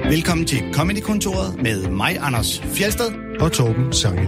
Velkommen til Comedy-kontoret med mig, Anders Fjeldsted og Torben Sangel.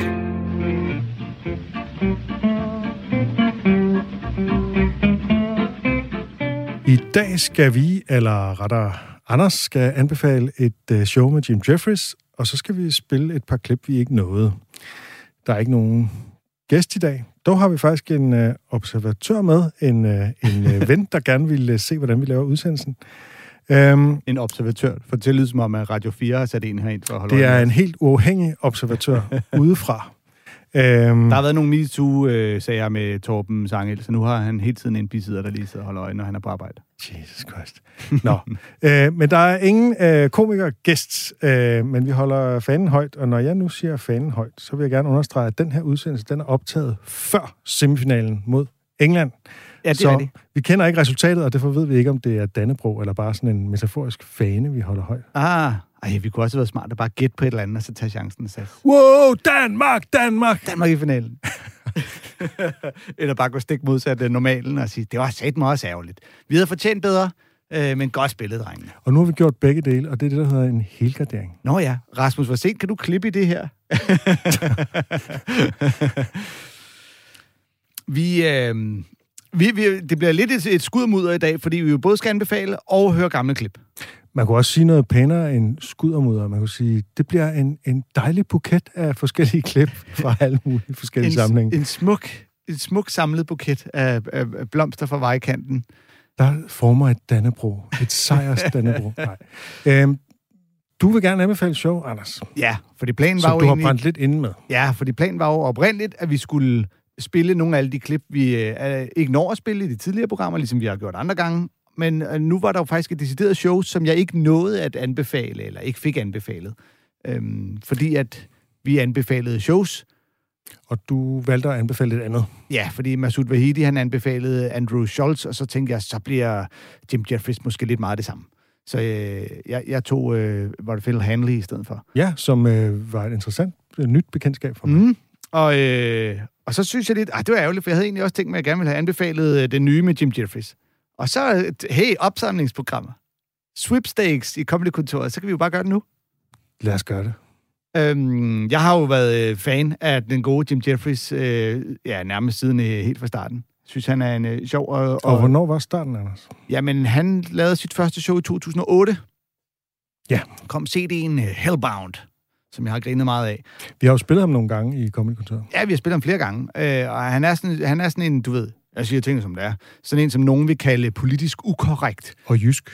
I dag skal vi, eller rettere Anders, skal anbefale et show med Jim Jefferies, og så skal vi spille et par klip, vi ikke nåede. Der er ikke nogen gæst i dag. Dog har vi faktisk en observatør med, en ven, der gerne vil se, hvordan vi laver udsendelsen. En observatør. For det lyder som om, at Radio 4 har sat en herind for at holde det er en helt uafhængig observatør udefra. Der har været nogle MeToo-sager med Torben Sangel, så nu har han hele tiden en bisidder, der lige sidder og holder øje, når han er på arbejde. Jesus Christ. Nå. Men der er ingen komiker-gæst, men vi holder fanen højt, og når jeg nu siger fanen højt, så vil jeg gerne understrege, at den her udsendelse, den er optaget før semifinalen mod England. Ja, det så er det. Vi kender ikke resultatet, og derfor ved vi ikke, om det er Dannebrog, eller bare sådan en metaforisk fane, vi holder højt. Vi kunne også have været smart at bare gætte på et eller andet, og så tage chancen og sætte. Wow, Danmark! Danmark i finalen. Eller bare gå stik modsat normalen og sige, det var satme også ærgerligt. Vi havde fortjent bedre, men godt spillet, drengene. Og nu har vi gjort begge dele, og det er det, der hedder en helgardering. Nå ja, Rasmus, hvor sent kan du klippe i det her? Det bliver lidt et skudmudder i dag, fordi vi jo både skal anbefale og høre gamle klip. Man kunne også sige noget pænere end skuddermudder. Man kunne sige, det bliver en dejlig buket af forskellige klip fra alle mulige forskellige sammenhænge. En smuk samlet buket af blomster fra vejkanten. Der former et Dannebrog. Et sejrs Dannebrog. Nej. Du vil gerne anbefale show, Anders. Ja, fordi planen var jo du har brændt lidt inde med. Ja, fordi planen var jo oprindeligt, at vi skulle spille nogle af alle de klip, vi ikke når at spille i de tidligere programmer, ligesom vi har gjort andre gange. Men nu var der jo faktisk et decideret show, som jeg ikke nåede at anbefale, eller ikke fik anbefalet. Fordi at vi anbefalede shows. Og du valgte at anbefale et andet. Ja, fordi Masoud Vahedi, han anbefalede Andrew Schulz, og så tænkte jeg, så bliver Jim Jefferies måske lidt meget det samme. Så jeg tog, var det Phil Hanley i stedet for. Ja, som var et interessant nyt bekendtskab for mig. Og så synes jeg lidt, det var ærgerligt, for jeg havde egentlig også tænkt mig, at jeg gerne ville have anbefalet det nye med Jim Jefferies. Og så, opsamlingsprogrammer. Sweepstakes i Comedy-kontoret, så kan vi jo bare gøre det nu. Lad os gøre det. Jeg har jo været fan af den gode Jim Jefferies, nærmest siden helt fra starten. Synes han er en sjov... Og hvornår var starten, Anders? Jamen, han lavede sit første show i 2008. Ja. Kom CD'en Hellbound, som jeg har grinet meget af. Vi har jo spillet ham nogle gange i Comedy-kontoret. Ja, vi har spillet ham flere gange. Og han er sådan en, du ved... Jeg siger tingene, som det er. Sådan en, som nogen vil kalde politisk ukorrekt. Og jysk.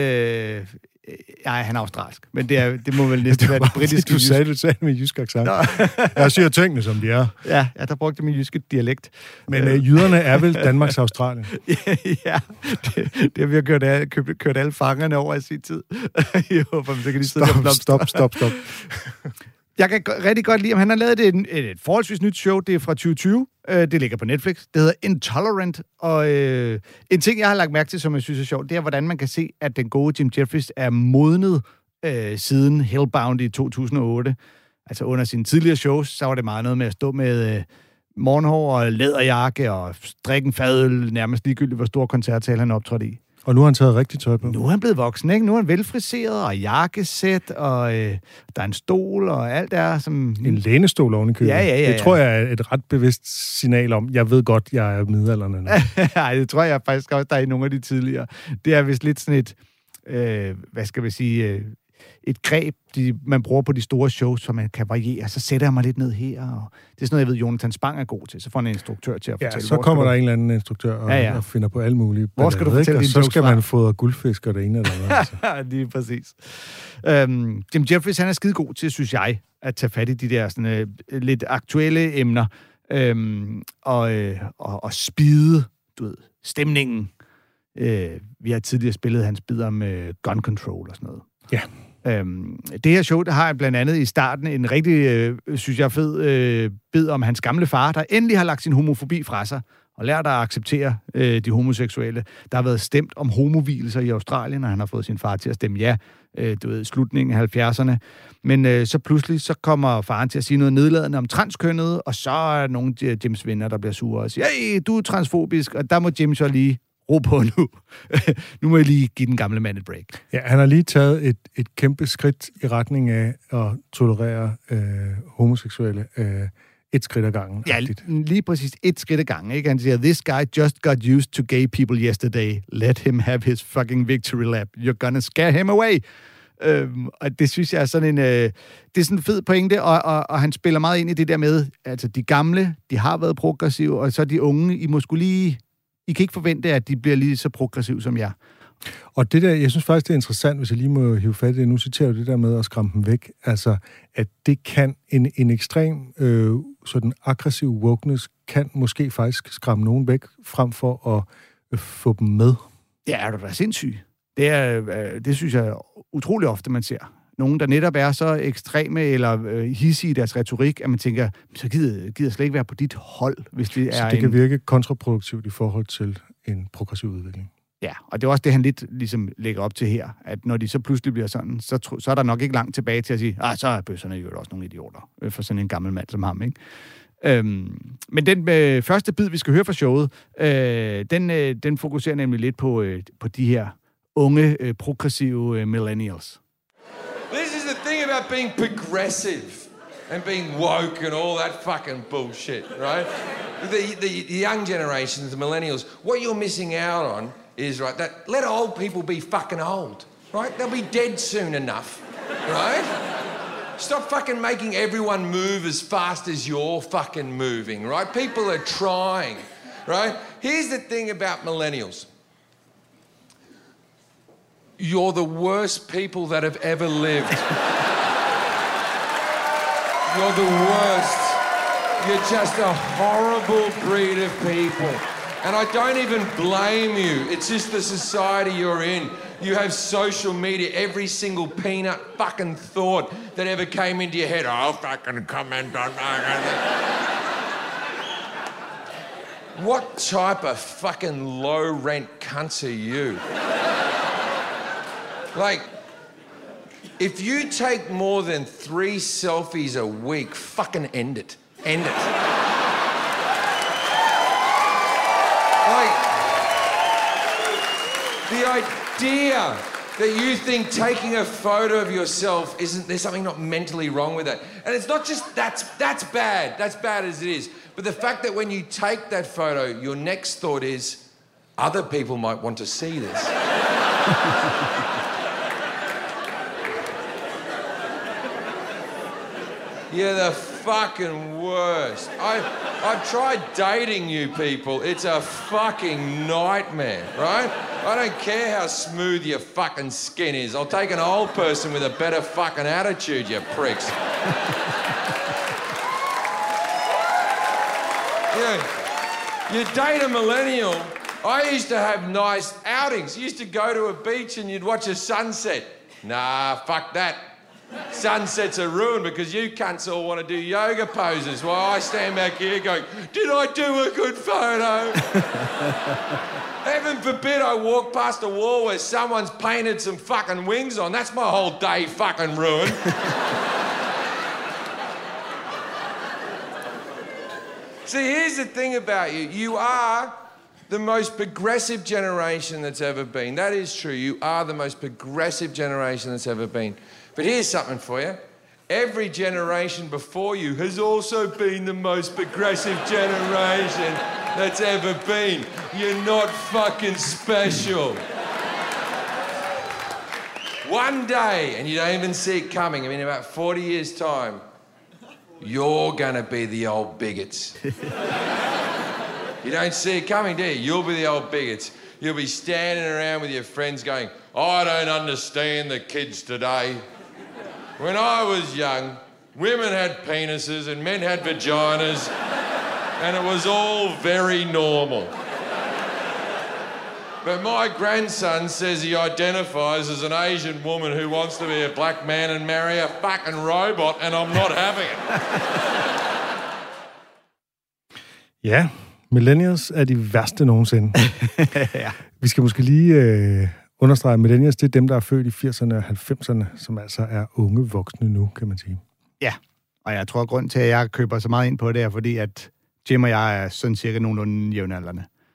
Nej, han er australsk. Men det må vel næsten være det britiske jysk. Du sagde med jysk accent. Jeg siger tingene, som de er. Ja, der brugte min jyske dialekt. Men jyderne er vel Danmarks Australien? Ja, det har vi kørt alle fangerne over i sin tid. Jeg håber, så kan de sidde og Stop. Jeg kan rigtig godt lide, om han har lavet et forholdsvis nyt show. Det er fra 2020. Det ligger på Netflix. Det hedder Intolerant. Og en ting, jeg har lagt mærke til, som jeg synes er sjovt, det er, hvordan man kan se, at den gode Jim Jefferies er modnet siden Hellbound i 2008. Altså under sine tidligere shows, så var det meget noget med at stå med morgenhår og læderjakke og drikke en fadøl, nærmest ligegyldigt, hvor stor koncertsal han optrådte i. Og nu har han taget rigtig tøj på. Nu er han blevet voksen, ikke? Nu er han velfriseret, og jakkesæt, og der er en stol, og alt er som... En lænestol oven i købet. Ja. Det tror jeg er et ret bevidst signal om. Jeg ved godt, jeg er midaldrende nu. Nej, det tror jeg faktisk også, der er i nogle af de tidligere. Det er vist lidt sådan et... et greb, man bruger på de store shows, så man kan variere. Så sætter jeg mig lidt ned her, og det er sådan noget, jeg ved, Jonathan Spang er god til. Så får han en instruktør til at fortælle. Ja, så kommer der en eller anden instruktør og finder på alle mulige. Hvor skal du fortælle dine jokes? Så skal man fodre guldfisk og det ene eller andet. Altså. Lige præcis. Jim Jefferies, han er skide god til, synes jeg, at tage fat i de der sådan, lidt aktuelle emner, og spide, du ved, stemningen. Vi har tidligere spillet hans bid om gun control og sådan noget. Ja. Det her show, der har jeg blandt andet i starten en rigtig, synes jeg, fed bid om hans gamle far, der endelig har lagt sin homofobi fra sig og lært at acceptere de homoseksuelle. Der har været stemt om homovielser i Australien, og han har fået sin far til at stemme ja, du ved, slutningen af 70'erne. Men så pludselig, så kommer faren til at sige noget nedladende om transkønnet, og så er nogle af Jims venner, der bliver sure og siger, hey, du er transfobisk, og der må Jim så lige ro på nu. Nu må jeg lige give den gamle mand et break. Ja, han har lige taget et kæmpe skridt i retning af at tolerere homoseksuelle et skridt ad gangen. Ja, lige præcis et skridt ad gangen. Ikke? Han siger, this guy just got used to gay people yesterday. Let him have his fucking victory lap. You're gonna scare him away. Og det synes jeg er sådan det er sådan en fed pointe, og han spiller meget ind i det der med, altså de gamle, de har været progressive, og så de unge, I kan ikke forvente, at de bliver lige så progressive som jer. Og det der, jeg synes faktisk, det er interessant, hvis jeg lige må hive fat i det. Nu citerer du det der med at skræmme dem væk. Altså, at det kan en ekstrem sådan aggressiv wokeness kan måske faktisk skræmme nogen væk, frem for at få dem med. Ja, er du da sindssyg? Det synes jeg utrolig ofte, man ser. Nogen, der netop er så ekstreme eller hissige i deres retorik, at man tænker, så gider slet ikke være på dit hold, hvis det så er det kan virke kontraproduktivt i forhold til en progressiv udvikling. Ja, og det er også det, han lidt ligesom lægger op til her, at når de så pludselig bliver sådan, så er der nok ikke langt tilbage til at sige, så er bøsserne jo også nogle idioter, for sådan en gammel mand som ham, ikke? Men den første bid, vi skal høre fra showet, den fokuserer nemlig lidt på de her unge, progressive millennials. This is the thing about being progressive and being woke and all that fucking bullshit, right? The young generations, the millennials, what you're missing out on is, right, that let old people be fucking old, right? They'll be dead soon enough, right? Stop fucking making everyone move as fast as you're fucking moving, right? People are trying, right? Here's the thing about millennials. You're the worst people that have ever lived. You're the worst. You're just a horrible breed of people. And I don't even blame you. It's just the society you're in. You have social media. Every single peanut fucking thought that ever came into your head, I'll fucking comment on that. What type of fucking low-rent cunts are you? Like, if you take more than 3 selfies a week, fucking end it. End it. Like, the idea that you think taking a photo of yourself there's something not mentally wrong with that. And it's not just, that's bad. That's bad as it is. But the fact that when you take that photo, your next thought is, other people might want to see this. You're the fucking worst. I've tried dating you people. It's a fucking nightmare, right? I don't care how smooth your fucking skin is. I'll take an old person with a better fucking attitude, you pricks. You date a millennial. I used to have nice outings. You used to go to a beach and you'd watch a sunset. Nah, fuck that. Sunsets are ruined because you cunts all want to do yoga poses while I stand back here going, did I do a good photo? Heaven forbid I walk past a wall where someone's painted some fucking wings on. That's my whole day fucking ruined. See, here's the thing about you. You are the most progressive generation that's ever been. That is true. You are the most progressive generation that's ever been. But here's something for you. Every generation before you has also been the most progressive generation that's ever been. You're not fucking special. One day, and you don't even see it coming, I mean, in about 40 years' time, you're gonna be the old bigots. You don't see it coming, do you? You'll be the old bigots. You'll be standing around with your friends going, I don't understand the kids today. When I was young, women had penises and men had vaginas, and it was all very normal. But my grandson says he identifies as an Asian woman who wants to be a black man and marry a fucking robot, and I'm not having it. Ja, millennials er de værste nogensinde. Ja. Vi skal måske lige understrege, at millennials, det er dem, der er født i 80'erne og 90'erne, som altså er unge voksne nu, kan man sige. Ja, og jeg tror, at grunden til, at jeg køber så meget ind på det, er fordi, at Jim og jeg er sådan cirka nogenlunde jævnaldrende.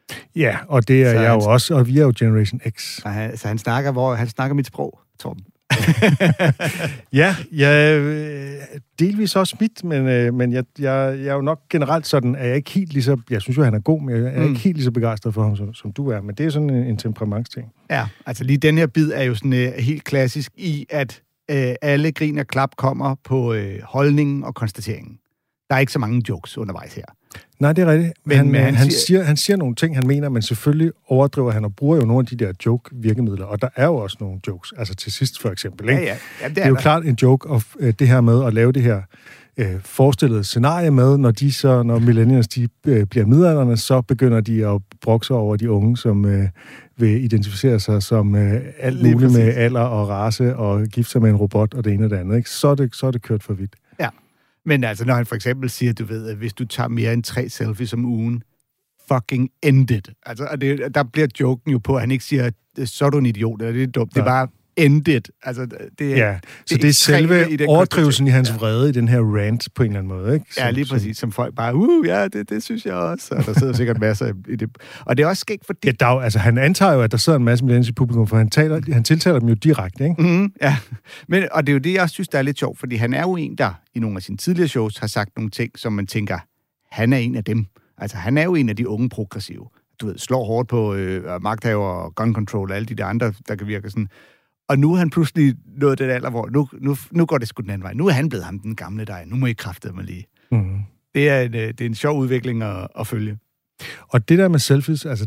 Ja, og det er jeg jo også, og vi er jo Generation X. Så han snakker mit sprog, Torben. Ja, delvis også mit, men jeg er jo nok generelt sådan, at jeg ikke helt lige så... Jeg synes jo, han er god, men jeg er ikke helt lige så begejstret for ham, som du er. Men det er sådan en temperamentsting. Ja, altså lige den her bid er jo sådan helt klassisk i, at alle grin og klap kommer på holdningen og konstateringen. Der er ikke så mange jokes undervejs her. Nej, det er rigtigt. Men han siger nogle ting, han mener, men selvfølgelig overdriver han og bruger jo nogle af de der joke-virkemidler. Og der er jo også nogle jokes. Altså til sidst for eksempel. Ikke? Ja, det er jo klart en joke, og det her med at lave det her forestillede scenarie med, når millennials de bliver midaldrende, så begynder de at brokse over de unge, som vil identificere sig som alt muligt med alder og race og gifte sig med en robot og det ene og det andet. Ikke? Så er det kørt for vidt. Ja. Men altså, når han for eksempel siger, du ved, at hvis du tager mere end 3 selfies om ugen, fucking end it. Altså, der bliver joken jo på, at han ikke siger, så er du en idiot, eller det er dumt. Det er bare end it. Altså, det er selve overdrivelsen i hans vrede i den her rant på en eller anden måde, ikke? Lige præcis. Som folk bare, ja, det synes jeg også. Og der sidder sikkert masser i det. Og det er også skægt, fordi... Ja, han antager jo, at der sidder en masse millennials i publikum, for han tiltaler dem jo direkte, ikke? Mm-hmm, ja. Og det er jo det, jeg også synes, der er lidt sjovt, fordi han er jo en, der i nogle af sine tidligere shows har sagt nogle ting, som man tænker, han er en af dem. Altså, han er jo en af de unge progressive. Du ved, slår hårdt på magthaver og gun control og alle de der andre, der kan virke sådan... Og nu er han pludselig nået den alder, hvor nu går det sgu den anden vej. Nu er han blevet ham, den gamle der. Nu må I kraftedeme mig lige. Mm. Det er en sjov udvikling at følge. Og det der med selfies, altså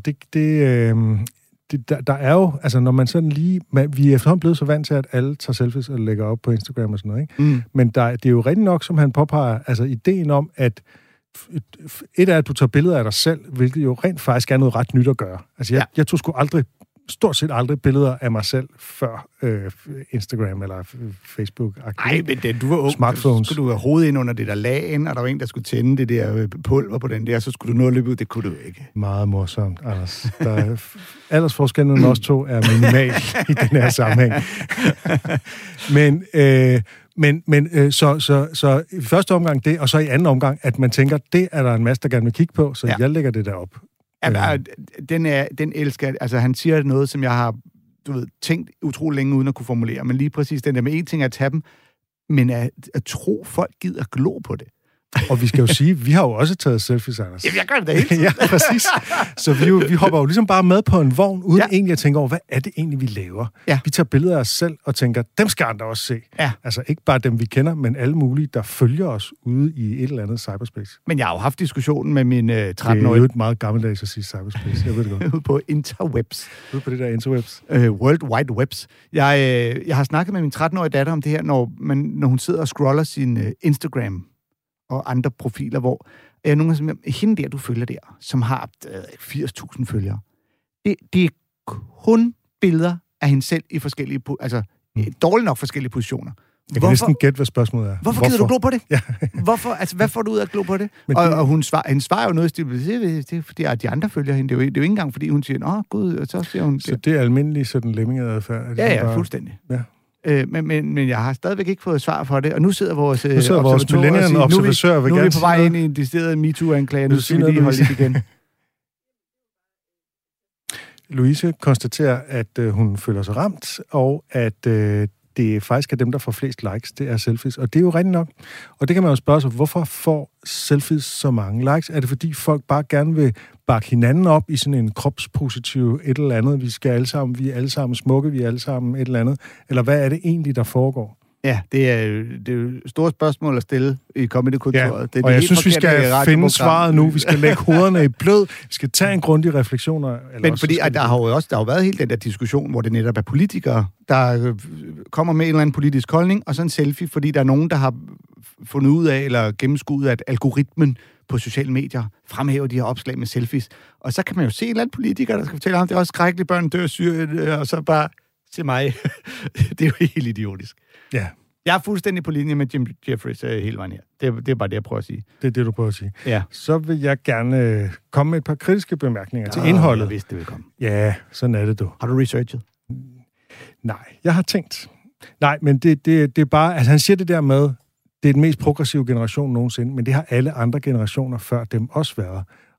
der er jo, altså når man sådan lige... Vi er efterhånden blevet så vant til, at alle tager selfies og lægger op på Instagram og sådan noget, ikke? Mm. Men det er jo rigtig nok, som han påpeger, altså ideen om, at et er, at du tager billeder af dig selv, hvilket jo rent faktisk er noget ret nyt at gøre. Altså jeg tog sgu stort set aldrig billeder af mig selv før Instagram eller Facebook. Nej, men du var ung. Smartphones. Så skulle du have hovedet ind under det der lagen, og der var en, der skulle tænde det der pulver på den der, så skulle du nå at løbe ud. Det kunne du ikke. Meget morsomt, Anders. Aldersforskellen mellem os to er minimal i den her sammenhæng. Så i første omgang det, og så i anden omgang, at man tænker, det er der en masse, der gerne vil kigge på, så jeg lægger det derop. Ja, den elsker... Altså, han siger noget, som jeg har, tænkt utrolig længe uden at kunne formulere, men lige præcis den der med en ting er at tage dem, men at tro, folk gider glo på det. Og vi skal jo sige, vi har jo også taget selfies, Anders. Jamen, jeg gør det da ikke. Ja, præcis. Så vi hopper jo ligesom bare med på en vogn, uden egentlig at tænke over, hvad er det egentlig, vi laver? Ja. Vi tager billeder af os selv og tænker, dem skal andre også se. Ja. Altså ikke bare dem, vi kender, men alle mulige, der følger os ude i et eller andet cyberspace. Men jeg har jo haft diskussionen med min 13-årige... Det er jo et meget gammeldags at sige cyberspace, jeg ved det godt. Ude på interwebs. Ude på det der interwebs. World Wide Webs. Jeg har snakket med min 13-årige datter om det her, når hun sidder og scroller sin Instagram og andre profiler, hvor nogle af hende der, du følger der, som har 80.000 følgere, det er kun billeder af hende selv i forskellige, dårligt nok forskellige positioner. Jeg kan næsten gætte, hvad spørgsmålet er. Hvorfor gider du glo på det? Ja. Hvorfor? Altså, hvad får du ud af at glo på det? Og hun svarer jo noget i stil, det er fordi, at de andre følger hende. Det er jo ikke engang, fordi hun siger, gud, og så siger hun... Så det er almindelig sådan lemmingeadfærd? Ja, fuldstændig. Ja. Men jeg har stadigvæk ikke fået svar for det, og nu sidder vores millennial-observatør nu er vi på vej ind i en decideret MeToo-anklage, nu skal vi lige holde lidt igen. Louise konstaterer, at hun føler sig ramt, og at det faktisk er dem, der får flest likes, det er selfies. Og det er jo rigtigt nok. Og det kan man jo spørge sig, hvorfor får selfies så mange likes? Er det fordi folk bare gerne vil bakke hinanden op i sådan en kropspositiv et eller andet? Vi er alle sammen smukke, vi er alle sammen et eller andet. Eller hvad er det egentlig, der foregår? Ja, det er jo store spørgsmål at stille i Comedy-kontoret. Ja, og jeg synes, vi skal finde svaret nu. Vi skal lægge hovederne i blød. Vi skal tage en grundig refleksion. Men fordi der har jo været hele den der diskussion, hvor det netop er politikere, der kommer med en eller anden politisk holdning, og så en selfie, fordi der er nogen, der har fundet ud af, eller gennemskuet, at algoritmen på sociale medier fremhæver de her opslag med selfies. Og så kan man jo se en eller anden politiker, der skal fortælle ham, det er også skrækkeligt, børn dør Syrien, og så bare til mig. Det er jo helt idiotisk. Ja. Jeg er fuldstændig på linje med Jim Jeffries hele vejen her. Det er bare det, jeg prøver at sige. Det er det, du prøver at sige. Ja. Så vil jeg gerne komme med et par kritiske bemærkninger til indholdet. Jeg vidste, det ville komme. Ja, sådan er det, du. Har du researchet? Nej, jeg har tænkt. Nej, men det er bare... Altså, han siger det der med, det er den mest progressive generation nogensinde, men det har alle andre generationer før dem også været.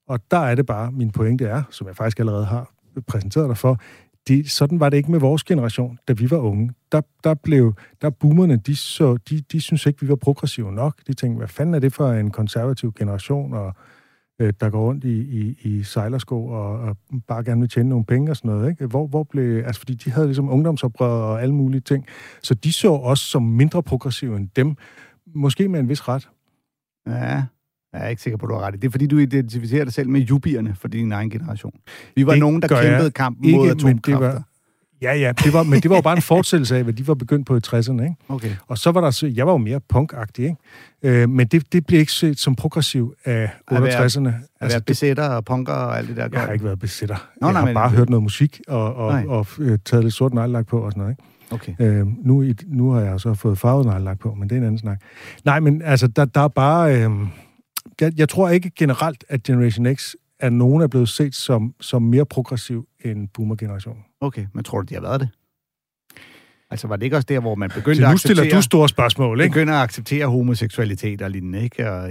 Og der er det bare, min pointe er, som jeg faktisk allerede har præsenteret dig for, sådan var det ikke med vores generation, da vi var unge. Der boomerne, de synes ikke, vi var progressive nok. De tænkte, hvad fanden er det for en konservativ generation, og der går rundt i sejlersko og bare gerne vil tjene nogle penge og sådan noget, ikke? Hvor blev... Altså, fordi de havde ligesom ungdomsoprør og alle mulige ting. Så de så os som mindre progressive end dem. Måske med en vis ret. Ja, jeg er ikke sikker på, du har ret. Det er, fordi du identificerer dig selv med jubierne for din egen generation. Vi var det nogen, der kæmpede kampen mod atomkræfter. Ja, men det var jo bare en fortsættelse af, hvad de var begyndt på i 60'erne, ikke? Okay. Og så var der... Jeg var jo mere punkagtig, ikke? Men det blev ikke set som progressiv af 68'erne. At være besætter og punker og alt det der. Jeg har ikke været besætter. Jeg har bare hørt noget musik og taget lidt sort neglelak på og sådan noget, ikke? Okay. Nu har jeg så fået farvet neglelak på, men det er en anden snak. Nej, men altså, der er bare... Jeg tror ikke generelt, at Generation X er nogen er blevet set som mere progressiv end boomer-generationen. Okay, men tror du, de har været det? Altså, var det ikke også der, hvor man begyndte at acceptere... Nu stiller du store spørgsmål, ikke? Begynder at acceptere homoseksualitet og lignende, ikke? Og,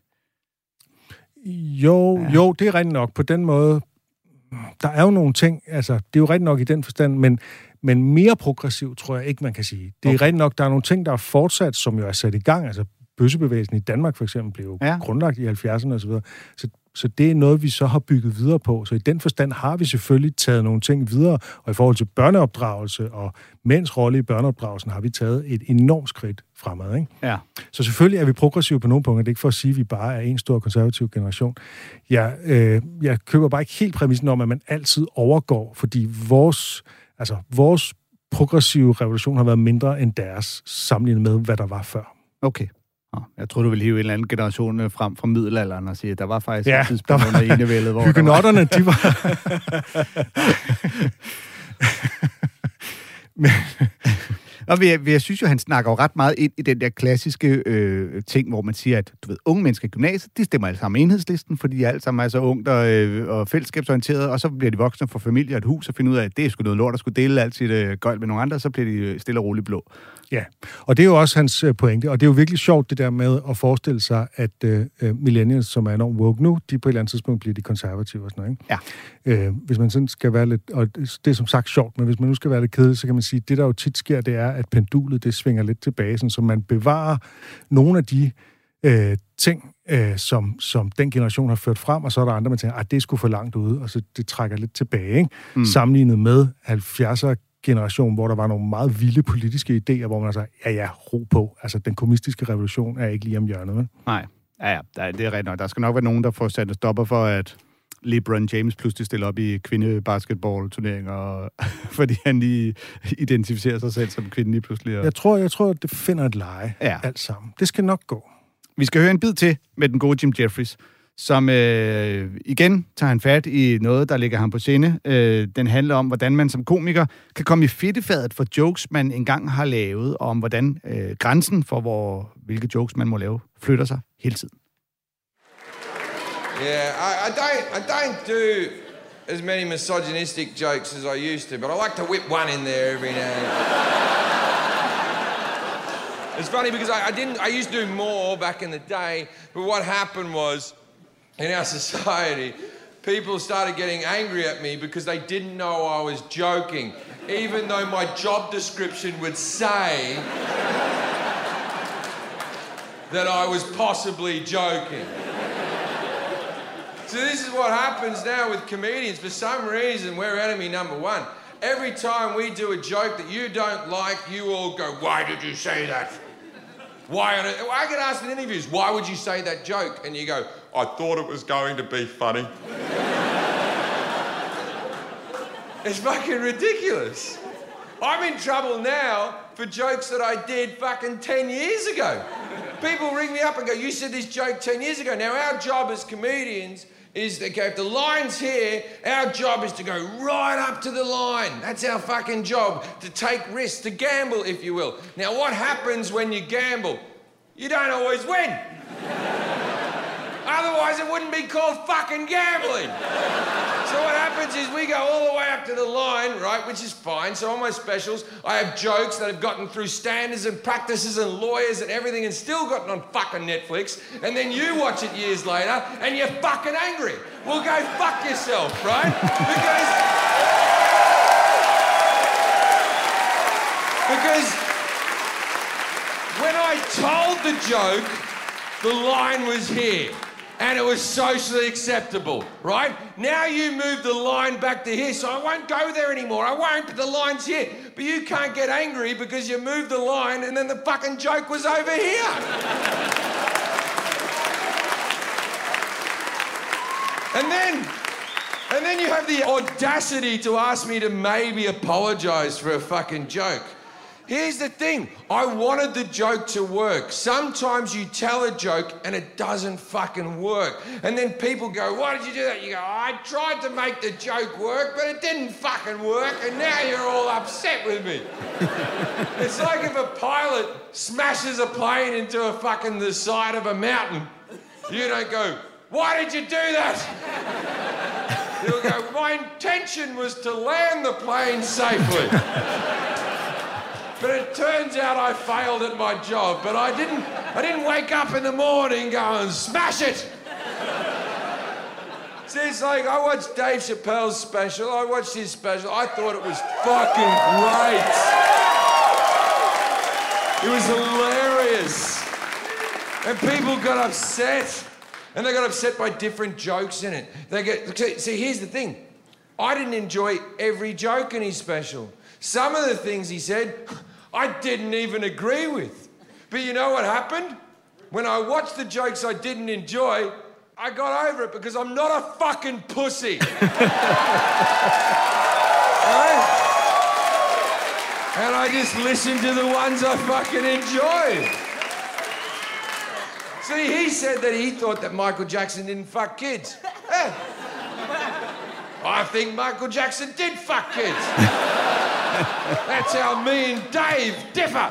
Jo, det er rigtigt nok. På den måde, der er jo nogle ting, altså, det er jo rigtigt nok i den forstand, men mere progressiv, tror jeg ikke, man kan sige. Det er rigtigt nok, der er nogle ting, der er fortsat, som jo er sat i gang. Altså, bøssebevægelsen i Danmark, for eksempel, blev jo grundlagt i 70'erne og så videre. Så det er noget, vi så har bygget videre på. Så i den forstand har vi selvfølgelig taget nogle ting videre, og i forhold til børneopdragelse og mænds rolle i børneopdragelsen, har vi taget et enormt skridt fremad, ikke? Ja. Så selvfølgelig er vi progressive på nogle punkter. Det er ikke for at sige, at vi bare er en stor konservativ generation. Jeg køber bare ikke helt præmissen om, at man altid overgår, fordi vores progressive revolution har været mindre end deres, sammenlignet med, hvad der var før. Okay. Jeg tror, du vil hive en eller anden generation frem fra middelalderen og sige, at der var faktisk et tidspunkt under enevældet, hvor hygenotterne, de var... Og jeg synes jo, han snakker jo ret meget ind i den der klassiske ting, hvor man siger, at du ved, unge mennesker i gymnasiet, de stemmer alle sammen Enhedslisten, fordi de alle sammen er så ungt og fællesskabsorienterede, og så bliver de voksne for familie og et hus og finder ud af, at det er sgu noget lort at skulle dele alt sit gøjl med nogle andre, og så bliver de stille og roligt blå. Ja, og det er jo også hans pointe, og det er jo virkelig sjovt det der med at forestille sig, at millennials, som er enormt woke nu, de på et eller andet tidspunkt bliver de konservative og sådan noget, ikke? Ja. Hvis man sådan skal være lidt, og det er som sagt sjovt, men hvis man nu skal være lidt kedelig, så kan man sige, at det der jo tit sker, det er, at pendulet, det svinger lidt tilbage, sådan, så man bevarer nogle af de ting, som den generation har ført frem, og så er der andre, man tænker, at det er sgu for langt ude, og så det trækker lidt tilbage, ikke? Sammenlignet med 70'er generation, hvor der var nogle meget vilde politiske idéer, hvor man sagde, ro på. Altså, den kommunistiske revolution er ikke lige om hjørnet, vel? Nej. Ja, det er rigtigt nok. Der skal nok være nogen, der får sat en stopper for, at LeBron James pludselig stiller op i kvindebasketball-turneringer, fordi han lige identificerer sig selv som kvinde lige pludselig. Og... Jeg tror, det finder et leje alt sammen. Det skal nok gå. Vi skal høre en bid til med den gode Jim Jeffries, som igen tager han fat i noget, der ligger ham på sinde. Den handler om, hvordan man som komiker kan komme i fedtefadet for jokes, man engang har lavet, og om hvordan grænsen for, hvilke jokes man må lave, flytter sig hele tiden. Yeah, I don't do as many misogynistic jokes as I used to, but I like to whip one in there every now and then. It's funny because I used to do more back in the day, but what happened was, in our society, people started getting angry at me because they didn't know I was joking, even though my job description would say that I was possibly joking. So this is what happens now with comedians. For some reason, we're enemy number one. Every time we do a joke that you don't like, you all go, "Why did you say that?" I get asked in interviews, "Why would you say that joke?" And you go, "I thought it was going to be funny." It's fucking ridiculous. I'm in trouble now for jokes that I did fucking 10 years ago. People ring me up and go, "You said this joke 10 years ago." Now our job as comedians is that if the line's here, our job is to go right up to the line. That's our fucking job, to take risks, to gamble, if you will. Now, what happens when you gamble? You don't always win. Otherwise, it wouldn't be called fucking gambling. So what happens is we go all the way up to the line, right, which is fine. So on my specials, I have jokes that have gotten through standards and practices and lawyers and everything and still gotten on fucking Netflix. And then you watch it years later and you're fucking angry. well, go fuck yourself, right? Because when I told the joke, the line was here. And it was socially acceptable, right? Now you move the line back to here, so I won't go there anymore. I won't, but the line's here. But you can't get angry because you moved the line and then the fucking joke was over here. And then you have the audacity to ask me to maybe apologise for a fucking joke. Here's the thing, I wanted the joke to work. Sometimes you tell a joke and it doesn't fucking work. And then people go, why did you do that? You go, I tried to make the joke work, but it didn't fucking work, and now you're all upset with me. It's like if a pilot smashes a plane into the side of a mountain. You don't go, why did you do that? You'll go, my intention was to land the plane safely. But it turns out I failed at my job, but I didn't wake up in the morning going, smash it! See, it's like, I watched Dave Chappelle's special, I watched his special, I thought it was fucking great. It was hilarious. And people got upset. And they got upset by different jokes in it. See, here's the thing. I didn't enjoy every joke in his special. Some of the things he said, I didn't even agree with. But you know what happened? When I watched the jokes I didn't enjoy, I got over it because I'm not a fucking pussy. Right? And I just listened to the ones I fucking enjoyed. See, he said that he thought that Michael Jackson didn't fuck kids. Yeah. I think Michael Jackson did fuck kids. That's how me and Dave differ.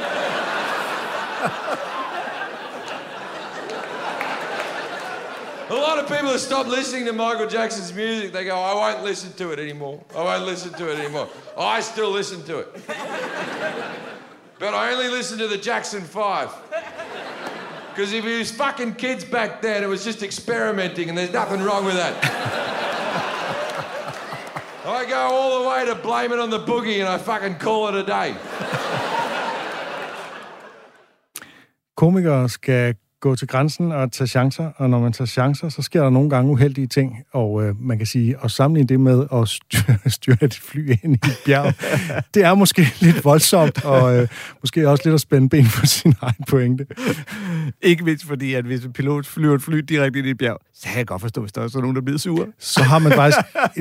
A lot of people have stopped listening to Michael Jackson's music. They go, I won't listen to it anymore. I won't listen to it anymore. I still listen to it. But I only listen to the Jackson 5. Because if he was fucking kids back then, it was just experimenting, and there's nothing wrong with that. I go all the way to blame it on the boogie, and I fucking call it a day. Komikere skal gå til grænsen og tage chancer, og når man tager chancer, så sker der nogle gange uheldige ting, og man kan sige, at sammenligne det med at styre et fly ind i et bjerg, det er måske lidt voldsomt, og måske også lidt at spænde ben for sin egen pointe. Ikke mindst fordi, at hvis en pilot flyver et fly direkte ind i et bjerg, så kan jeg godt forstå, hvis der også er nogen, der bliver sure. Så har man faktisk...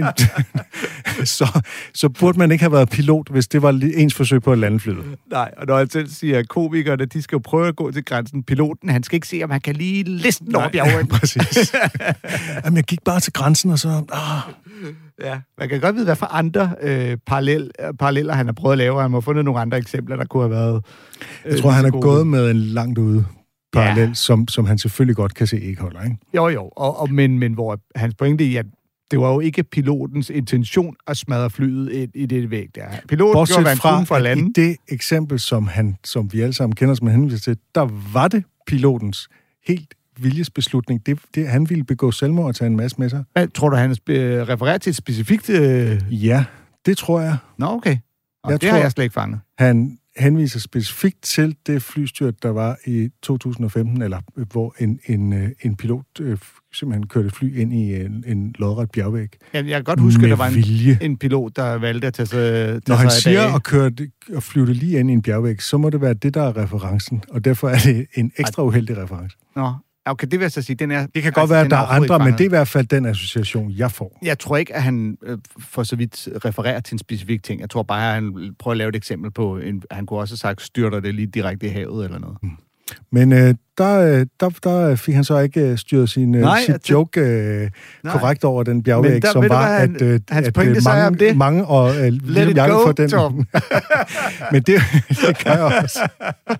så burde man ikke have været pilot, hvis det var ens forsøg på at lande flyet. Nej, og når jeg selv siger, at komikerne, de skal jo prøve at gå til grænsen. Piloten, han skal ikke se, om han kan lige listen over bjerget. Præcis. Jamen, jeg gik bare til grænsen, og så... Ja, man kan godt vide, hvad for andre paralleller han har prøvet at lave. Han må have fundet nogle andre eksempler, der kunne have været... Jeg tror, han er gået med en langt ude parallel, som han selvfølgelig godt kan se ikke holder, ikke? Jo, men hvor hans pointe i, at det var jo ikke pilotens intention at smadre flyet i det væg der. Piloten gjorde, hvad han kunne for at lande. I det eksempel, som vi alle sammen kender, som han henviser til, der var det pilotens helt viljesbeslutning. Han ville begå selvmord og tage en masse med sig. Hvad, tror du, han refererer til et specifikt... Ja, det tror jeg. Nå, okay. Det har jeg slet ikke fanget. Han henviser specifikt til det flystyrt, der var i 2015, eller hvor en pilot simpelthen kørte fly ind i en lodret bjergvæg. Jeg kan godt huske, at der var en pilot, der valgte at tage sig Når han siger at flyve det lige ind i en bjergvæg, så må det være det, der er referencen, og derfor er det en ekstra uheldig reference. Nå, okay, det vil jeg så sige, det kan godt være, at der er andre, men det er i hvert fald den association, jeg får. Jeg tror ikke, at han for så vidt refererer til en specifik ting. Jeg tror bare, at han prøver at lave et eksempel på, han kunne også have sagt, styrter det lige direkte i havet eller noget. Men der fik han så ikke styret sit joke korrekt over den bjergvæg, som var, at mange og lidt jakke for den. Men det kan jeg også.